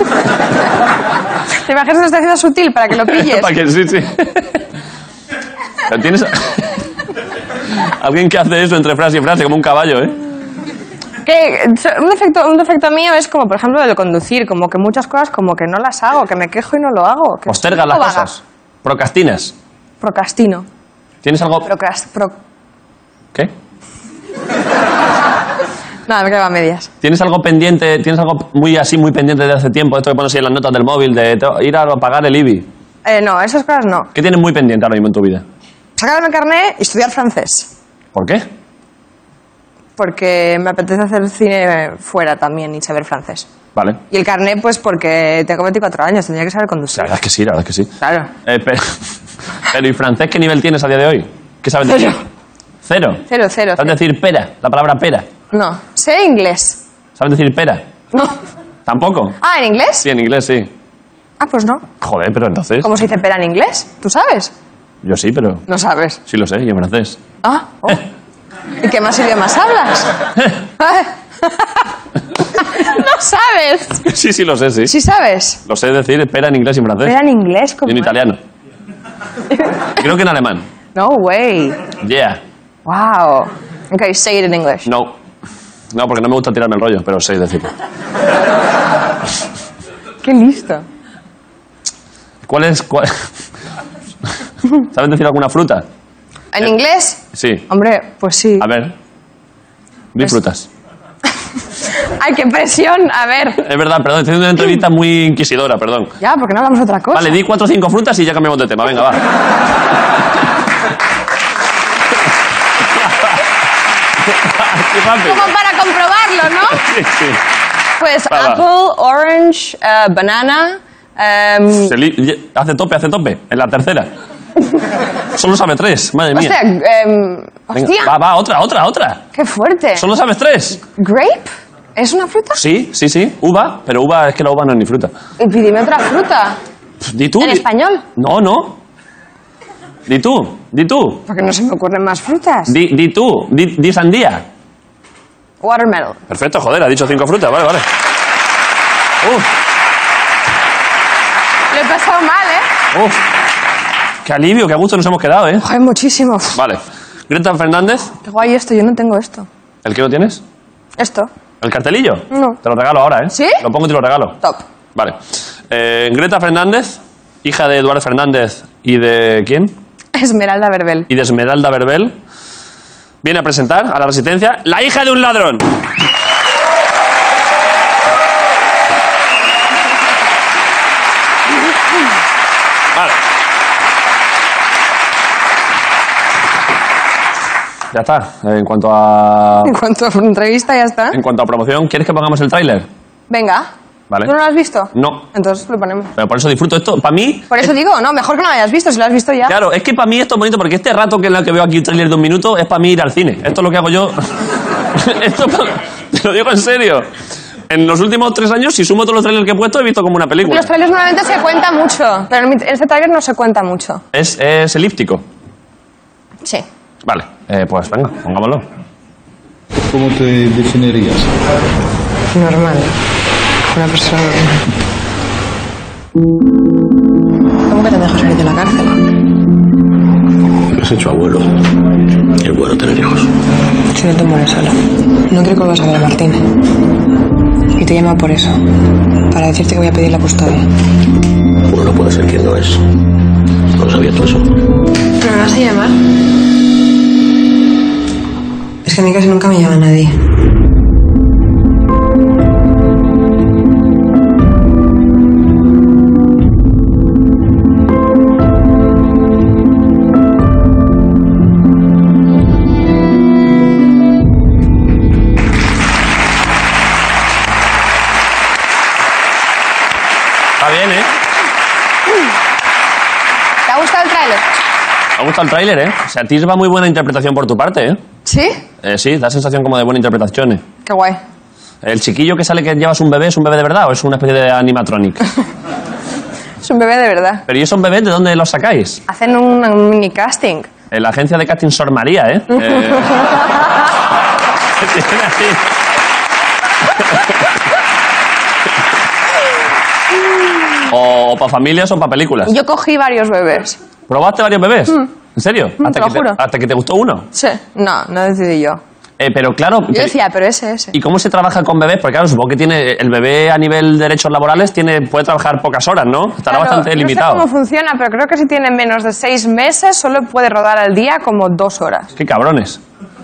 ¿Te imaginas que está haciendo sutil para que lo pilles? Para que sí. ¿Tienes alguien que hace eso entre frase y frase como un caballo, eh? Un defecto mío es como, por ejemplo, el de conducir. Como que muchas cosas como que no las hago, que me quejo y no lo hago. Que Postergas las soy un poco cosas. Procrastinas. vaga. Procrastino. ¿Tienes algo...? ¿Qué? Nada, me quedo a medias. ¿Tienes algo pendiente? ¿Tienes algo muy pendiente de hace tiempo? Esto que pones ahí en las notas del móvil, de ir a pagar el IBI. No, esas cosas no. ¿Qué tienes muy pendiente ahora mismo en tu vida? Sacarme el carnet y estudiar francés. ¿Por qué? Porque me apetece hacer cine fuera también y saber francés. Vale. Y el carnet, pues porque tengo 24 años, tendría que saber conducir. La verdad es que sí. Claro. Pero ¿y francés qué nivel tienes a día de hoy? ¿Qué sabes decir? Cero. ¿Cero? Cero. ¿Sabes decir pera? La palabra pera. No. Sé inglés. ¿Sabes decir pera? No. ¿Tampoco? Ah, ¿en inglés? Sí, en inglés sí. Ah, pues no. Joder, pero entonces... ¿Cómo se dice pera en inglés? ¿Tú sabes? Yo sí, pero... No sabes. Sí lo sé, y en francés. Ah. Oh. ¿Y qué más idiomas hablas? No sabes. Sí lo sé, sí. ¿Sí sabes? Lo sé decir pera en inglés y en francés. Pera en inglés, Y ¿cómo en es? italiano. Creo que en alemán. No way. Yeah. Wow. Okay, say it in English. No. No, porque no me gusta tirarme el rollo, pero sé decirlo. Qué listo. ¿Cuál es...? ¿Sabes decir alguna fruta? ¿En inglés? Sí. Hombre, pues sí. A ver. Di frutas. Ay, qué presión. A ver. Es verdad, perdón, estoy haciendo una entrevista muy inquisidora, perdón. Ya, porque no hablamos de otra cosa. Vale, di 4 o 5 frutas y ya cambiamos de tema. Venga, va. Qué rápido. Como para comprobarlo, ¿no? Sí. Pues Va. apple, orange, banana. Hace tope. En la tercera. Solo sabe 3, madre mía. Hostia, Venga, hostia. va, otra. Qué fuerte. Solo sabes 3. Grape. ¿Es una fruta? Sí. Uva, pero uva es que la uva no es ni fruta. Y pídeme otra fruta. Di tú. ¿En español? No. Di tú. Porque no se me ocurren más frutas. Di tú. Di sandía. Watermelon. Perfecto, joder, ha dicho 5 frutas, vale. Lo he pasado mal, ¿eh? Qué alivio, qué a gusto nos hemos quedado, ¿eh? Joder, muchísimo. Vale. Greta Fernández, Qué guay esto, yo no tengo esto. ¿el que lo tienes? ¿Esto? ¿El cartelillo? No. Te lo regalo ahora, ¿eh? ¿Sí? Lo pongo y te lo regalo. Top. Vale. Greta Fernández, hija de Eduardo Fernández y de... ¿quién? Esmeralda Verbel. Y de Esmeralda Verbel, viene a presentar a la Resistencia La hija de un ladrón. Vale. Ya está. En cuanto a entrevista, ya está. En cuanto a promoción, ¿quieres que pongamos el tráiler? Venga. Vale. ¿Tú no lo has visto? No. Entonces lo ponemos. Pero por eso disfruto esto. Para mí... Por eso digo, no, mejor que no lo hayas visto, si lo has visto ya. Claro, es que para mí esto es bonito porque este rato que es el que veo aquí un tráiler de 1 minuto es para mí ir al cine. Esto es lo que hago yo. Te lo digo en serio. En los últimos 3 años, si sumo todos los trailers que he puesto, he visto como una película. Los trailers normalmente se cuenta mucho, pero en este trailer no se cuenta mucho. Es elíptico. Sí. Vale, pues venga, pongámoslo. ¿Cómo te definirías? Normal. Una persona normal. ¿Cómo que te dejo salir de la cárcel? Me has hecho abuelo. Y es bueno tener hijos. Si no te mueres sola. No quiero que vuelvas a ver a Martín. Y te llamo por eso. Para decirte que voy a pedir la custodia. Uno no puede ser quien no es. ¿No sabías tú eso? ¿Me vas a llamar? Es que a mí casi nunca me llama nadie. gustado el tráiler? Me ha gustado el tráiler, ¿eh? O sea, atisba muy buena interpretación por tu parte, ¿eh? ¿Sí? Sí, da sensación como de buena interpretación. Qué guay. ¿El chiquillo que sale que llevas un bebé es un bebé de verdad o es una especie de animatronic? Es un bebé de verdad. ¿Pero y esos bebés de dónde los sacáis? Hacen un mini casting. En la agencia de casting Sor María, ¿eh? Tiene así. O para familias o para películas. Yo cogí varios bebés. ¿Probaste varios bebés? ¿En serio? te lo juro. ¿Hasta que te gustó uno? Sí. No decidí yo. Pero claro... Yo decía, pero ese. ¿Y cómo se trabaja con bebés? Porque claro, supongo que tiene el bebé a nivel de derechos laborales puede trabajar pocas horas, ¿no? Estará bastante limitado. No sé cómo funciona, pero creo que si tiene menos de 6 meses solo puede rodar al día como 2 horas. ¡Qué cabrones!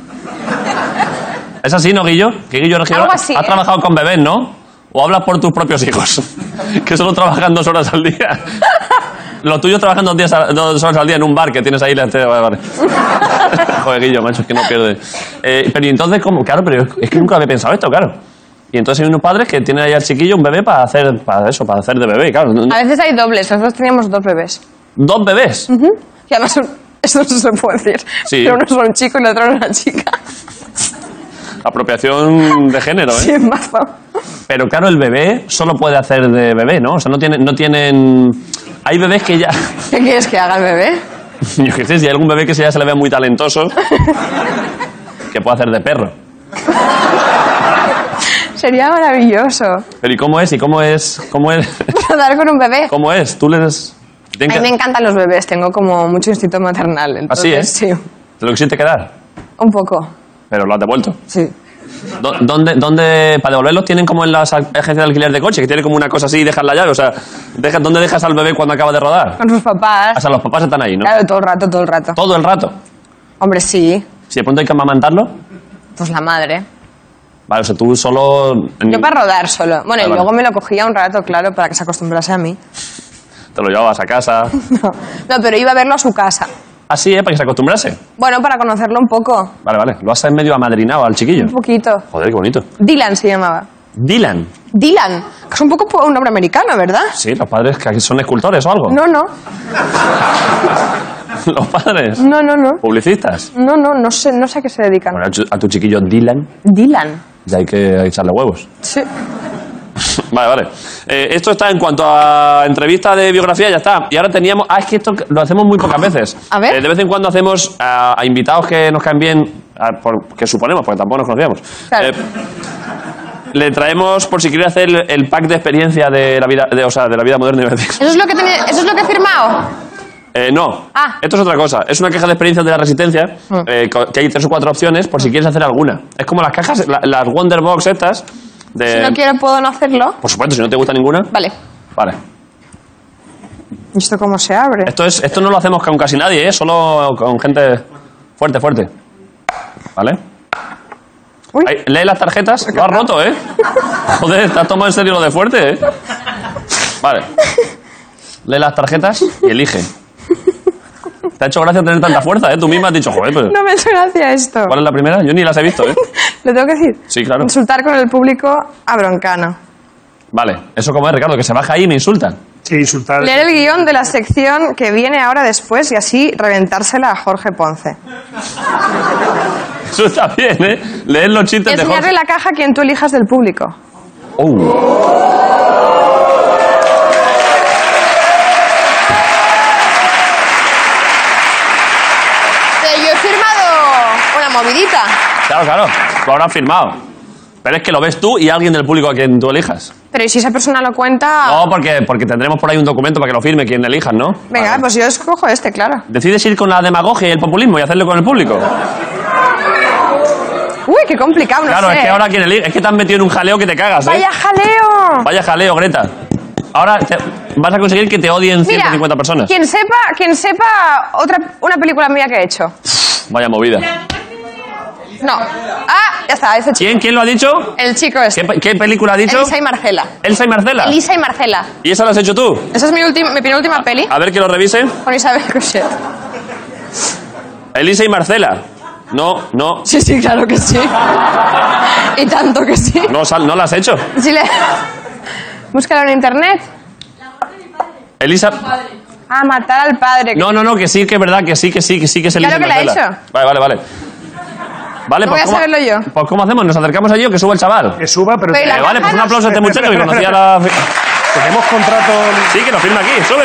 ¿Es así, no, Guillo? Que Guillo Algo así, ha trabajado con bebés, ¿no? ¿O hablas por tus propios hijos? Que solo trabajan 2 horas al día. Los tuyos trabajan 2 horas al día en un bar que tienes ahí. Vale. Joder, Guillo, macho, es que no pierde. Pero y entonces, ¿cómo? Claro, pero es que nunca había pensado esto, claro. Y entonces hay unos padres que tienen ahí al chiquillo un bebé para hacer de bebé, claro. A veces hay dobles, nosotros teníamos 2 bebés. ¿2 bebés? Y además, eso no se puede decir. Sí. Pero uno es un chico y el otro es una chica. Apropiación de género, ¿eh? Sí, es mazo. Pero claro, el bebé solo puede hacer de bebé, ¿no? O sea, no tienen... Hay bebés que ya... ¿Qué quieres que haga el bebé? Yo qué sé, si hay algún bebé que ya se le ve muy talentoso, que puede hacer de perro. Sería maravilloso. Pero ¿y cómo es? ¿Cómo es? Rodar con un bebé. ¿Cómo es? Tú les... A mí me encantan los bebés, tengo como mucho instinto maternal. Entonces, ¿Así, sí. ¿Te lo quisiste quedar? Un poco. Pero lo has devuelto. Sí. ¿Dónde para devolverlos tienen como en las agencias de alquiler de coche, que tienen como una cosa así y dejas la llave? O sea, ¿dónde dejas al bebé cuando acaba de rodar? Con sus papás. O sea, los papás están ahí, ¿no? Claro, todo el rato. ¿Todo el rato? Hombre, sí. Si de pronto hay que amamantarlo. Pues la madre. Vale, o sea, tú solo... Yo para rodar solo. Bueno, y vale. luego me lo cogía un rato, claro, para que se acostumbrase a mí. Te lo llevabas a casa. No, pero iba a verlo a su casa. Así, ¿eh? Para que se acostumbrase. Bueno, para conocerlo un poco. Vale. Lo has medio amadrinado al chiquillo. Un poquito. Joder, qué bonito. Dylan se llamaba. Dylan. Dylan. Que es un poco un nombre americano, ¿verdad? Sí, los padres que aquí son escultores o algo. No. Los padres. No. Publicistas. No sé a qué se dedican. Bueno, a tu chiquillo Dylan Dylan. ya hay que echarle huevos. Sí. Vale. Esto está en cuanto a entrevista de biografía, ya está. Y ahora teníamos... es que esto lo hacemos muy pocas veces. A ver. De vez en cuando hacemos a invitados que nos caen bien, que suponemos, porque tampoco nos conocíamos. Claro. Le traemos, por si quiere hacer el pack de experiencia de la vida, de la vida moderna. ¿Eso es lo que he firmado? No. Ah. Esto es otra cosa. Es una caja de experiencias de la Resistencia, que hay 3 o 4 opciones por si quieres hacer alguna. Es como las cajas, las Wonderbox estas. Si no quiero, ¿puedo no hacerlo? Por supuesto, si no te gusta ninguna. Vale. ¿Y esto cómo se abre? Esto no lo hacemos con casi nadie, ¿eh? Solo con gente fuerte. ¿Vale? Uy. Ahí, lee las tarjetas. Lo has roto, ¿eh? Joder, te has tomado en serio lo de fuerte, ¿eh? Vale. Lee las tarjetas y elige. Te ha hecho gracia tener tanta fuerza, ¿eh? Tú misma has dicho, joder, pero... No me ha hecho gracia esto. ¿Cuál es la primera? Yo ni las he visto, ¿eh? ¿Lo tengo que decir? Sí, claro. Insultar con el público a Broncano. Vale. ¿Eso cómo es, Ricardo? Que se baja ahí y me insultan. Sí, insultar. Leer el guión de la sección que viene ahora después y así reventársela a Jorge Ponce. Eso está bien, ¿eh? Leer los chistes de Enseñarle Jorge. la caja a quien tú elijas del público. Yo he firmado una movidita. Claro. Lo habrás firmado. Pero es que lo ves tú y alguien del público a quien tú elijas. Pero ¿y si esa persona lo cuenta? No, porque tendremos por ahí un documento para que lo firme quien elijas, ¿no? Venga, Vale. pues yo escojo este, claro. ¿Decides ir con la demagogia y el populismo y hacerlo con el público? Uy, qué complicado, no Claro, sé. es que ahora quien elige... Es que te has metido en un jaleo que te cagas, ¿eh? ¡Vaya jaleo! Vaya jaleo, Greta. Ahora vas a conseguir que te odien 150 Mira, personas. quien sepa una película mía que he hecho. Vaya movida. No. Ah, ya está, ese chico. ¿Quién lo ha dicho? El chico este. ¿Qué película ha dicho? Elisa y Marcela. ¿Elsa y Marcela? Elisa y Marcela. ¿Y esa la has hecho tú? Esa es mi penúltima peli. A ver que lo revise. Con Isabel Cochet. Elisa y Marcela. No. Sí, claro que sí. Y tanto que sí. No la has hecho. Sí, búscalo en internet. Elisa... Ah, matar al padre. No, que sí, que es verdad, que sí es el Claro que la he hecho. Vale. Vale, No voy a ¿cómo, saberlo yo. pues ¿cómo hacemos? ¿Nos acercamos allí o que suba el chaval? Que suba, pero... Pero ¿y la Vale, pues un aplauso a este muchacho que conocía la... Tenemos contrato... Sí, que lo firma aquí. Sube.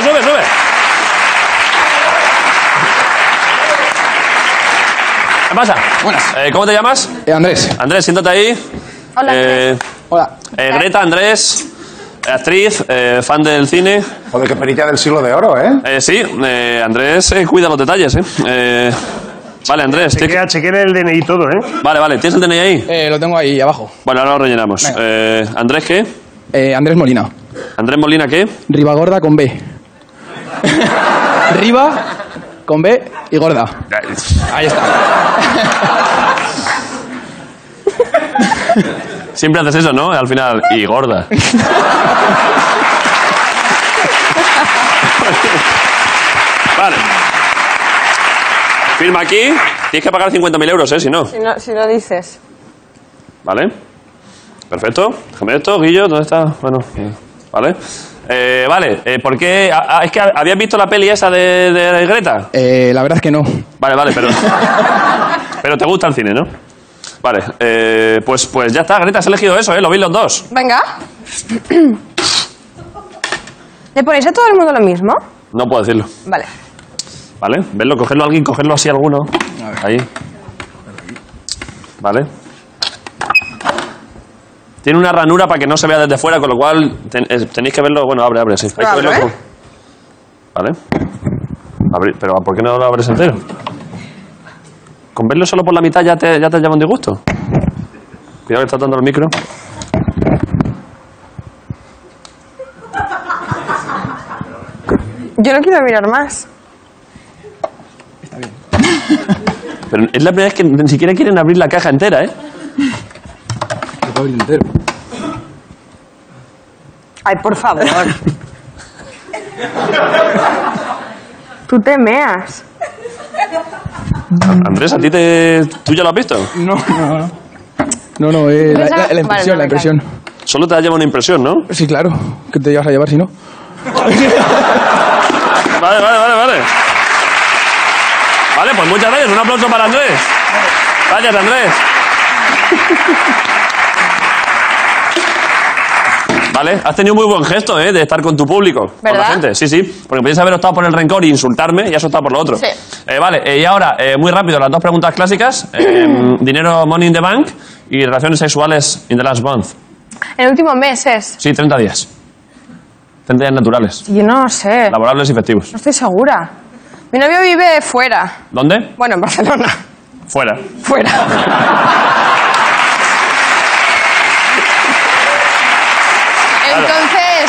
¿Qué pasa? Buenas. ¿Cómo te llamas? Andrés. Andrés, siéntate ahí. Hola, Andrés. Hola. Greta, Andrés, actriz, fan del cine. Joder, qué perilla del siglo de oro, ¿eh? Sí, Andrés cuida los detalles, Vale, Andrés. Chequea el DNI y todo, ¿eh? Vale, ¿tienes el DNI ahí? Lo tengo ahí abajo. Bueno, ahora lo rellenamos. ¿Andrés qué? Andrés Molina. ¿Andrés Molina qué? Ribagorda con B. Riba con B y gorda. Ahí está. Siempre haces eso, ¿no? Al final, y gorda. Vale. Firma aquí. Tienes que pagar 50.000 euros, si no. Si no dices. Vale. Perfecto. Déjame esto, Guillo, ¿dónde está? Bueno, vale. Vale, ¿por qué? Es que ¿habías visto la peli esa de Greta? La verdad es que no. Vale, pero... pero te gusta el cine, ¿no? Vale, pues ya está, Greta, has elegido eso, lo veis los dos. Venga. ¿Le ponéis a todo el mundo lo mismo? No puedo decirlo. Vale. Vale, verlo, cogerlo a alguien, cogerlo así a alguno. Ahí. Vale. Tiene una ranura para que no se vea desde fuera, con lo cual tenéis que verlo. Bueno, abre, sí. Hay que verlo con... Vale. Pero ¿por qué no lo abres entero? Con verlo solo por la mitad ya te llama un disgusto. Cuidado que está dando el micro. Yo no quiero mirar más. Está bien. Pero es la primera vez que ni siquiera quieren abrir la caja entera, ¿eh? Lo puedo abrir entero. Ay, por favor. Tú te meas. Andrés, ¿tú ya lo has visto? No, la impresión, la impresión. Solo te ha llevado una impresión, ¿no? Sí, claro. ¿Qué te llevas a llevar si no? Vale. Vale, pues muchas gracias. Un aplauso para Andrés. Gracias, Andrés. Vale, has tenido muy buen gesto, de estar con tu público, con la gente. Sí, porque podías haber optado por el rencor e insultarme y has optado por lo otro. Sí. Vale, y ahora, muy rápido, las dos preguntas clásicas. Dinero, money in the bank y relaciones sexuales in the last month. El último mes es. Sí, 30 días. 30 días naturales. Yo no sé. Laborables y festivos. No estoy segura. Mi novio vive fuera. ¿Dónde? Bueno, en Barcelona. Fuera. Entonces,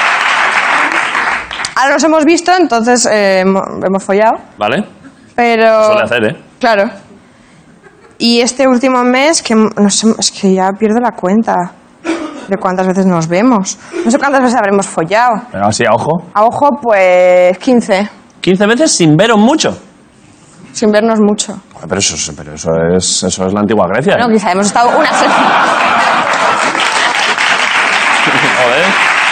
ahora nos hemos visto, entonces hemos follado. Vale. Pero... Suele hacer, Claro. Y este último mes, que no sé, es que ya pierdo la cuenta de cuántas veces nos vemos. No sé cuántas veces habremos follado. Pero así, a ojo. A ojo, pues 15. 15 veces sin veros mucho. Sin vernos mucho. Pero eso es la antigua Grecia. Bueno, quizá hemos estado una semana. Joder.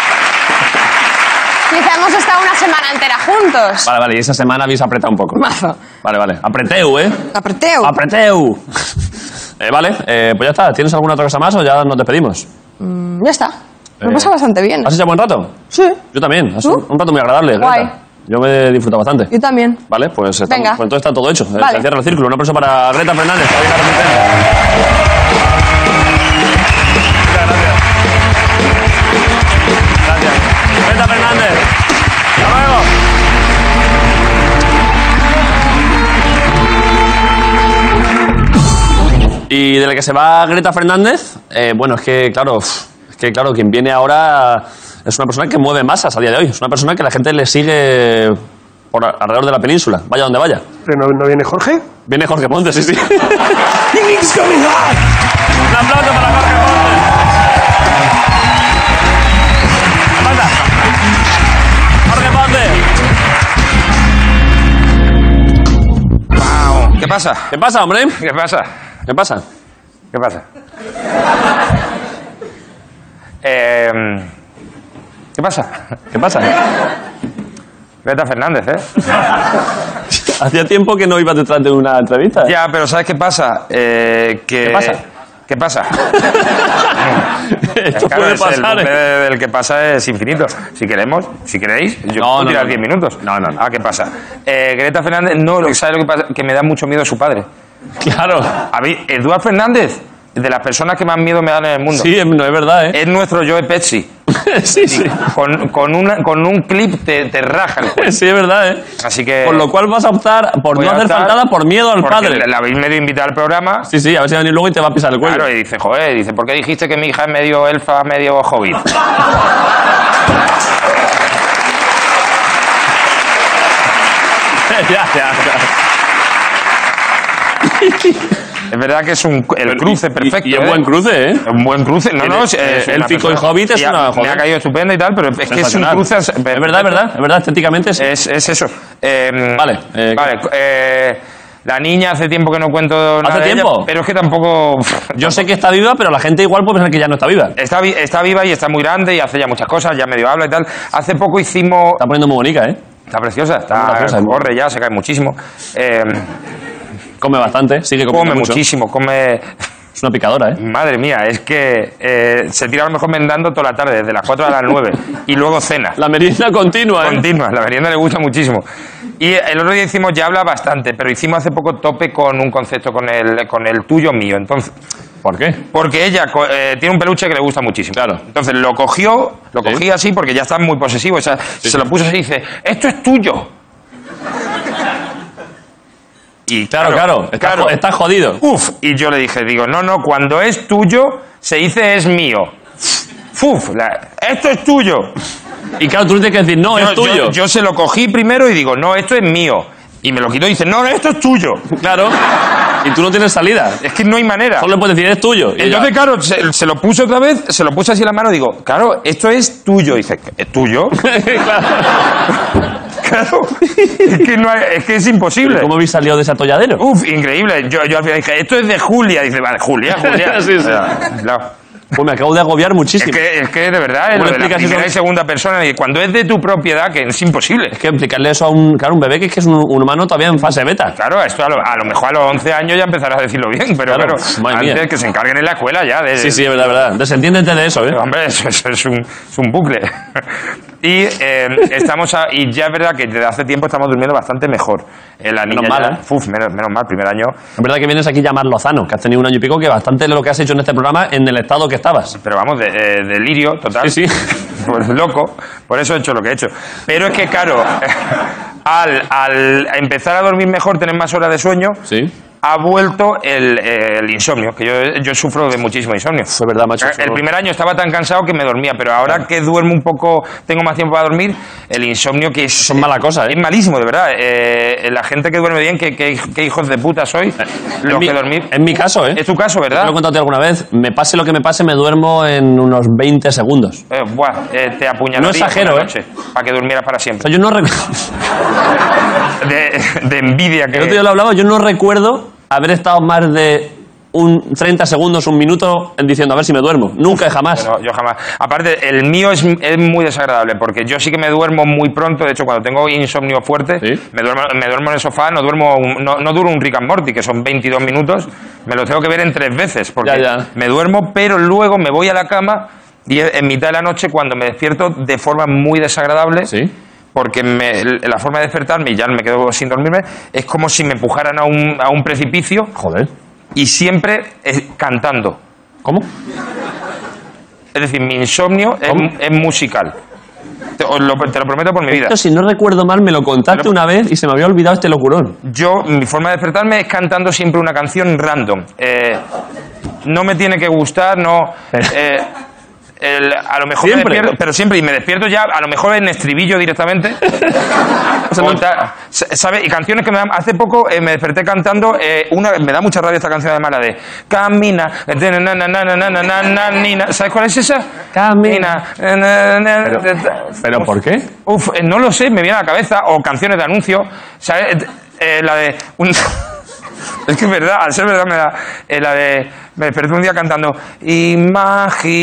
Quizá hemos estado una semana entera juntos. Vale, y esa semana habéis apretado un poco. Mazo. Vale. Apreteu, Apreteu. Apreteu. Vale, pues ya está. ¿Tienes alguna otra cosa más o ya nos despedimos? Ya está. Me pasa bastante bien. ¿Has hecho buen rato? Sí. Yo también. ¿Tú? Un rato muy agradable, Greta. Guay. Yo me he disfrutado bastante. Yo también. Vale, pues Venga. entonces está todo hecho. Vale. Se cierra el círculo. Un aplauso para Greta Fernández. Que ha llegado a la Gracias. Greta Fernández. Hasta luego. Y de la que se va Greta Fernández, bueno, es que claro, quien viene ahora es una persona que mueve masas a día de hoy. Es una persona que la gente le sigue por alrededor de la península, vaya donde vaya. ¿Pero no viene Jorge? Viene Jorge Ponte, sí. Un aplauso para Jorge Ponte. ¿Qué pasa? Jorge Ponte. Wow. ¿Qué pasa? ¿Qué pasa, hombre? ¿Qué pasa? ¿Qué pasa? ¿Qué pasa? ¿Qué pasa? ¿Qué pasa? Greta Fernández, Hacía tiempo que no ibas detrás de una entrevista. Ya, pero ¿sabes qué pasa? ¿Qué pasa? ¿Qué pasa? Esto puede pasar, el del que pasa es infinito. Si queremos, si queréis, yo puedo tirar 10 minutos. No. Ah, ¿qué pasa? Greta Fernández, ¿sabes lo que pasa? Que me da mucho miedo su padre. Claro. A mí, Eduard Fernández, de las personas que más miedo me dan en el mundo. Sí, no es verdad, Es nuestro Joe Pesci. sí. Con un clip te raja el juego. Sí, es verdad, Así que... Por lo cual vas a optar por no hacer faltada por miedo al padre. La habéis medio invitado al programa. Sí, a ver si va a venir luego y te va a pisar el cuello. Claro, y dice, ¿por qué dijiste que mi hija es medio elfa, medio hobbit? ya. Es verdad que es el cruce perfecto. Y es buen cruce, Un buen cruce. Élfico y hobbit es una... Me ha caído estupendo y tal, pero es que es un cruce... Es verdad, estéticamente sí. Es eso. Vale. La niña hace tiempo que no cuento nada ¿Hace de tiempo? ella, pero es que tampoco... Yo sé que está viva, pero la gente igual puede pensar que ya no está viva. Está viva y está muy grande y hace ya muchas cosas, ya medio habla y tal. Hace poco hicimos... Está poniendo muy bonita, Está preciosa, corre ya, se cae muchísimo. Come bastante, sigue comiendo mucho. Muchísimo, Es una picadora, Madre mía, es que se tira a lo mejor mendando toda la tarde, desde las 4 a las 9, y luego cena. La merienda continua, Continua, la merienda le gusta muchísimo. Y el otro día hicimos, ya habla bastante, pero hicimos hace poco tope con un concepto, con el tuyo mío. Entonces, ¿por qué? Porque ella tiene un peluche que le gusta muchísimo. Claro. Entonces lo cogí así, porque ya está muy posesivo. Se lo puso así y dice, esto es tuyo. Y claro. Estás jodido. Y yo le dije, no, cuando es tuyo, se dice es mío. Esto es tuyo. Y claro, tú tienes que decir, no, es tuyo. Yo se lo cogí primero y digo, no, esto es mío. Y me lo quitó y dice, no, esto es tuyo. Claro. Y tú no tienes salida. Es que no hay manera. Solo le puedes decir, es tuyo. Y entonces, claro, se lo puse otra vez, se lo puse así en la mano y digo, claro, esto es tuyo. Y dice, ¿es tuyo? Claro. Es que es imposible. ¿Cómo habéis salido de ese atolladero? Increíble. Yo al final dije, esto es de Julia. Dice, vale, Julia. Sí. Claro. Pues me acabo de agobiar muchísimo. Es que de verdad, lo de la primera y segunda persona, y cuando es de tu propiedad, que es imposible. Es que explicarle eso a un bebé que es un humano todavía en fase beta. Claro, esto a lo mejor a los 11 años ya empezarás a decirlo bien, pero claro, antes que se encarguen en la escuela ya. Sí, es verdad. Desentiéndete de eso, Hombre, eso es un bucle. Y y ya es verdad que desde hace tiempo estamos durmiendo bastante mejor. La niña menos mal, menos mal, primer año. Es verdad que vienes aquí ya más lozano, que has tenido un año y pico, que bastante de lo que has hecho en este programa en el estado que estabas. Pero vamos, delirio total. Sí. Pues loco, por eso he hecho lo que he hecho. Pero es que, claro, al empezar a dormir mejor, tener más horas de sueño, ha vuelto el insomnio, que yo sufro de muchísimo insomnio. Es verdad, macho. El primer año estaba tan cansado que me dormía, pero ahora que duermo un poco, tengo más tiempo para dormir, el insomnio que es... Son mala cosa, Es malísimo, de verdad. La gente que duerme bien, que hijos de puta sois, los que dormir... Es mi caso, Es tu caso, ¿verdad? Te lo he contado alguna vez. Me pase lo que me pase, me duermo en unos 20 segundos. Te apuñalaría. No exagero, para que durmieras para siempre. O sea, yo no recuerdo... de envidia que... El otro día lo hablaba, yo no recuerdo haber estado más de 30 segundos, un minuto diciendo a ver si me duermo. Nunca y jamás. No, yo jamás. Aparte, el mío es muy desagradable porque yo sí que me duermo muy pronto. De hecho, cuando tengo insomnio fuerte, me duermo en el sofá, no duro un Rick and Morty, que son 22 minutos. Me lo tengo que ver en 3 veces porque me duermo, pero luego me voy a la cama y en mitad de la noche, cuando me despierto de forma muy desagradable, porque la forma de despertarme, y ya me quedo sin dormirme, es como si me empujaran a un precipicio. Joder. Y siempre cantando. ¿Cómo? Es decir, mi insomnio es musical. Te lo prometo por mi vida. Esto, si no recuerdo mal, me lo contaste una vez y se me había olvidado este locurón. Mi forma de despertarme es cantando siempre una canción random. No me tiene que gustar, a lo mejor siempre. Me despierto, pero siempre, y me despierto ya, a lo mejor en estribillo directamente. ¿Sabes? Y canciones que me dan. Hace poco me desperté cantando me da mucha rabia esta canción, además, la de Camina. ¿Sabes cuál es esa? Camina. ¿Pero por qué? No lo sé, me viene a la cabeza. O canciones de anuncio. ¿Sabes? La de. Es que es verdad, al ser verdad me da la de... Me desperté un día cantando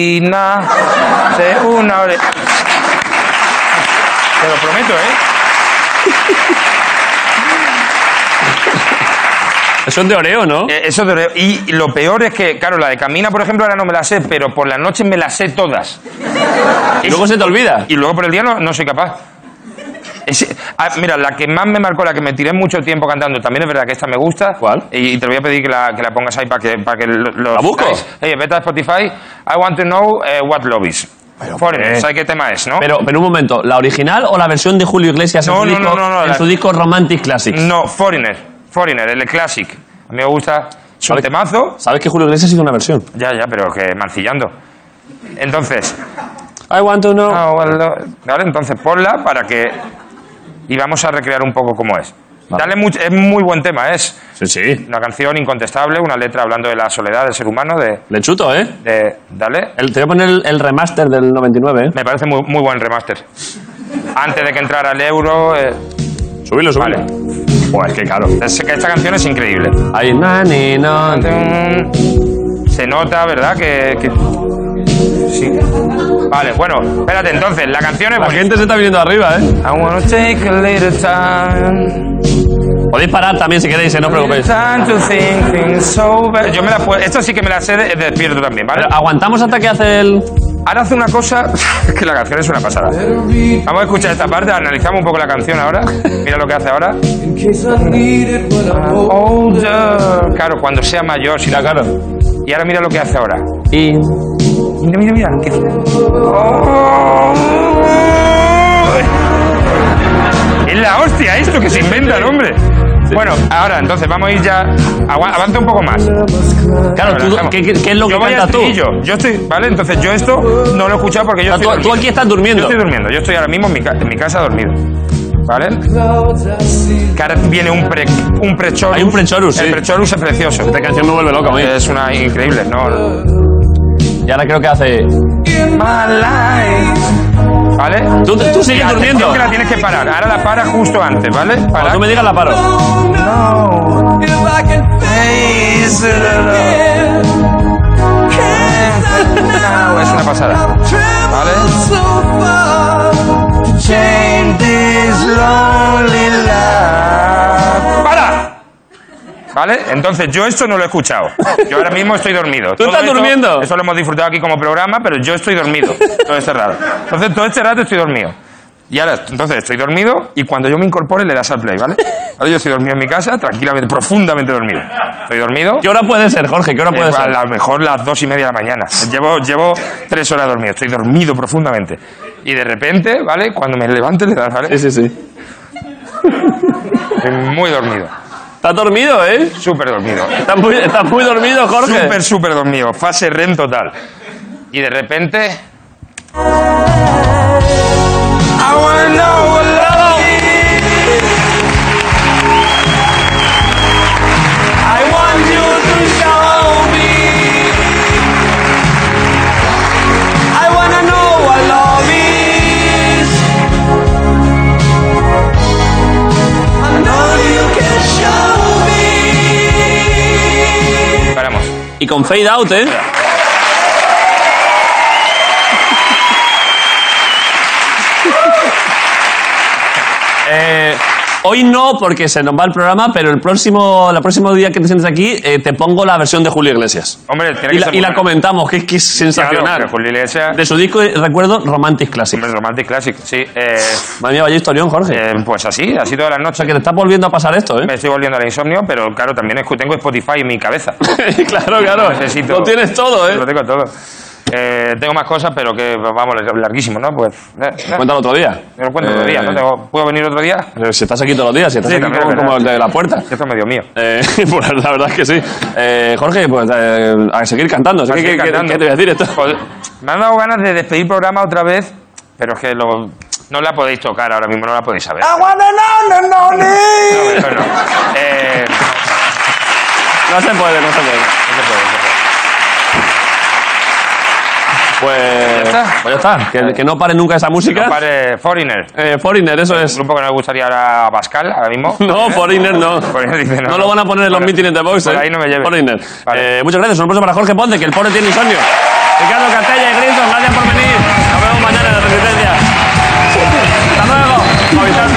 Imagina de una hora... Te lo prometo, Eso es de Oreo, ¿no? Eso es de Oreo. Y lo peor es que, claro, la de Camina, por ejemplo, ahora no me la sé, pero por las noches me las sé todas. ¿Y luego se te olvida? Y luego por el día no soy capaz. Mira, la que más me marcó, la que me tiré mucho tiempo cantando, también es verdad que esta me gusta. ¿Cuál? Y te voy a pedir que la pongas ahí para que lo ¿La busco? Vete a Spotify. I want to know what love is. Foreigner, ¿sabes qué tema es, no? Pero un momento, ¿la original o la versión de Julio Iglesias No, en su disco Romantic Classics? No, Foreigner, el Classic. A mí me gusta, es un temazo. ¿Sabes que Julio Iglesias hizo una versión? Ya, pero que mancillando. Entonces... I want to know... Vale, entonces ponla para que... Y vamos a recrear un poco cómo es. Vale. Es muy buen tema, es Sí. una canción incontestable, una letra hablando de la soledad del ser humano, Le chuto, ¿eh? Dale. Te voy a poner el remaster del 99, ¿eh? Me parece muy buen remaster. Antes de que entrara el euro... Subilo. Vale. Pues qué caro. Es que esta canción es increíble. Ahí, Se nota, ¿verdad? Que... Sí. Vale, bueno, espérate, entonces, la canción es La gente se está viniendo arriba, ¿eh? I wanna take a little time. Podéis parar también si queréis, no os preocupéis. Yo me la puedo... Esto sí que me la sé de despierto también, ¿vale? Pero aguantamos hasta que hace el... Ahora hace una cosa... Es que la canción es una pasada. Vamos a escuchar esta parte, analizamos un poco la canción ahora. Mira lo que hace ahora. Claro, cuando sea mayor, sí, claro. Y ahora mira lo que hace ahora. Mira. Es la hostia esto que se inventa el hombre. Sí. Bueno, ahora entonces vamos a ir ya. Avanza un poco más. Claro, ¿qué es lo que cantas tú? Yo estoy, ¿vale? Entonces yo esto no lo he escuchado porque yo estoy tú aquí estás durmiendo. Yo estoy durmiendo. Yo estoy ahora mismo en mi casa dormido. ¿Vale? Que ahora viene un pre-chorus. Hay un pre-chorus, sí. El pre-chorus es precioso. Esta canción me vuelve loca, ¿eh? Es una increíble, ¿no? Y ahora creo que hace... ¿Vale? Tú sigues durmiendo. Que la tienes que parar. Ahora la paras justo antes, ¿vale? Cuando tú me digas la paro. Es una pasada. ¿Vale? ¡Para! ¿Vale? Entonces, yo esto no lo he escuchado. Yo ahora mismo estoy dormido. ¿Tú estás durmiendo? Eso lo hemos disfrutado aquí como programa, pero yo estoy dormido todo este rato. Entonces, todo este rato estoy dormido. Y ahora, entonces, estoy dormido y cuando yo me incorpore le das al play, ¿vale? Ahora yo estoy dormido en mi casa, tranquilamente, profundamente dormido. Estoy dormido. ¿Qué hora puede ser, Jorge? ¿Qué hora puede ser? A lo mejor las 2:30 de la mañana. Llevo 3 horas dormido. Estoy dormido profundamente. Y de repente, ¿vale? Cuando me levante le das, ¿vale? Sí. Estoy muy dormido. ¿Estás dormido, eh? Súper dormido. ¿Estás muy dormido, Jorge? Súper dormido. Fase REM total. Y de repente... I wanna know what love is. I want you to show me. I wanna know what love is. I know you can show me. Paramos. Y con fade out, ¿eh? Hoy no, porque se nos va el programa, pero el próximo día que te sientes aquí, te pongo la versión de Julio Iglesias. Hombre, tiene que y la comentamos, que es sensacional. Claro, Julio Iglesias... De su disco, recuerdo, Romantic Classic. Hombre, Romantic Classic, sí. Madre mía, vaya historión, Jorge. Pues así todas las noches. O sea, que te está volviendo a pasar esto, ¿eh? Me estoy volviendo al insomnio, pero claro, también tengo Spotify en mi cabeza. claro. Lo tienes todo, ¿eh? Lo tengo todo. Tengo más cosas, pero que, vamos, larguísimo, ¿no? Pues... Cuéntalo otro día. Me lo cuento otro día, ¿no? ¿Puedo venir otro día? Si estás aquí todos los días, si estás aquí como el de la puerta. Esto es medio mío. Pues la verdad es que sí. Jorge, pues a seguir cantando. ¿Qué te voy a decir esto? Joder, me han dado ganas de despedir programa otra vez, pero es que no la podéis tocar ahora mismo, no la podéis saber. No, eso no. No se puede. Pues ya está. Que no pare nunca esa música. No pare Foreigner. Foreigner, eso es. Un grupo que no le gustaría ahora a Pascal, ahora mismo. No, Foreigner no. Foreigner dice no. No lo van a poner en los mítines de Vox, por ahí no me lleve. Foreigner. Vale. Muchas gracias. Un aplauso para Jorge Ponce, que el pobre tiene insomnio. Ricardo Castella y Grison, gracias por venir. Nos vemos mañana en La Resistencia. Hasta luego.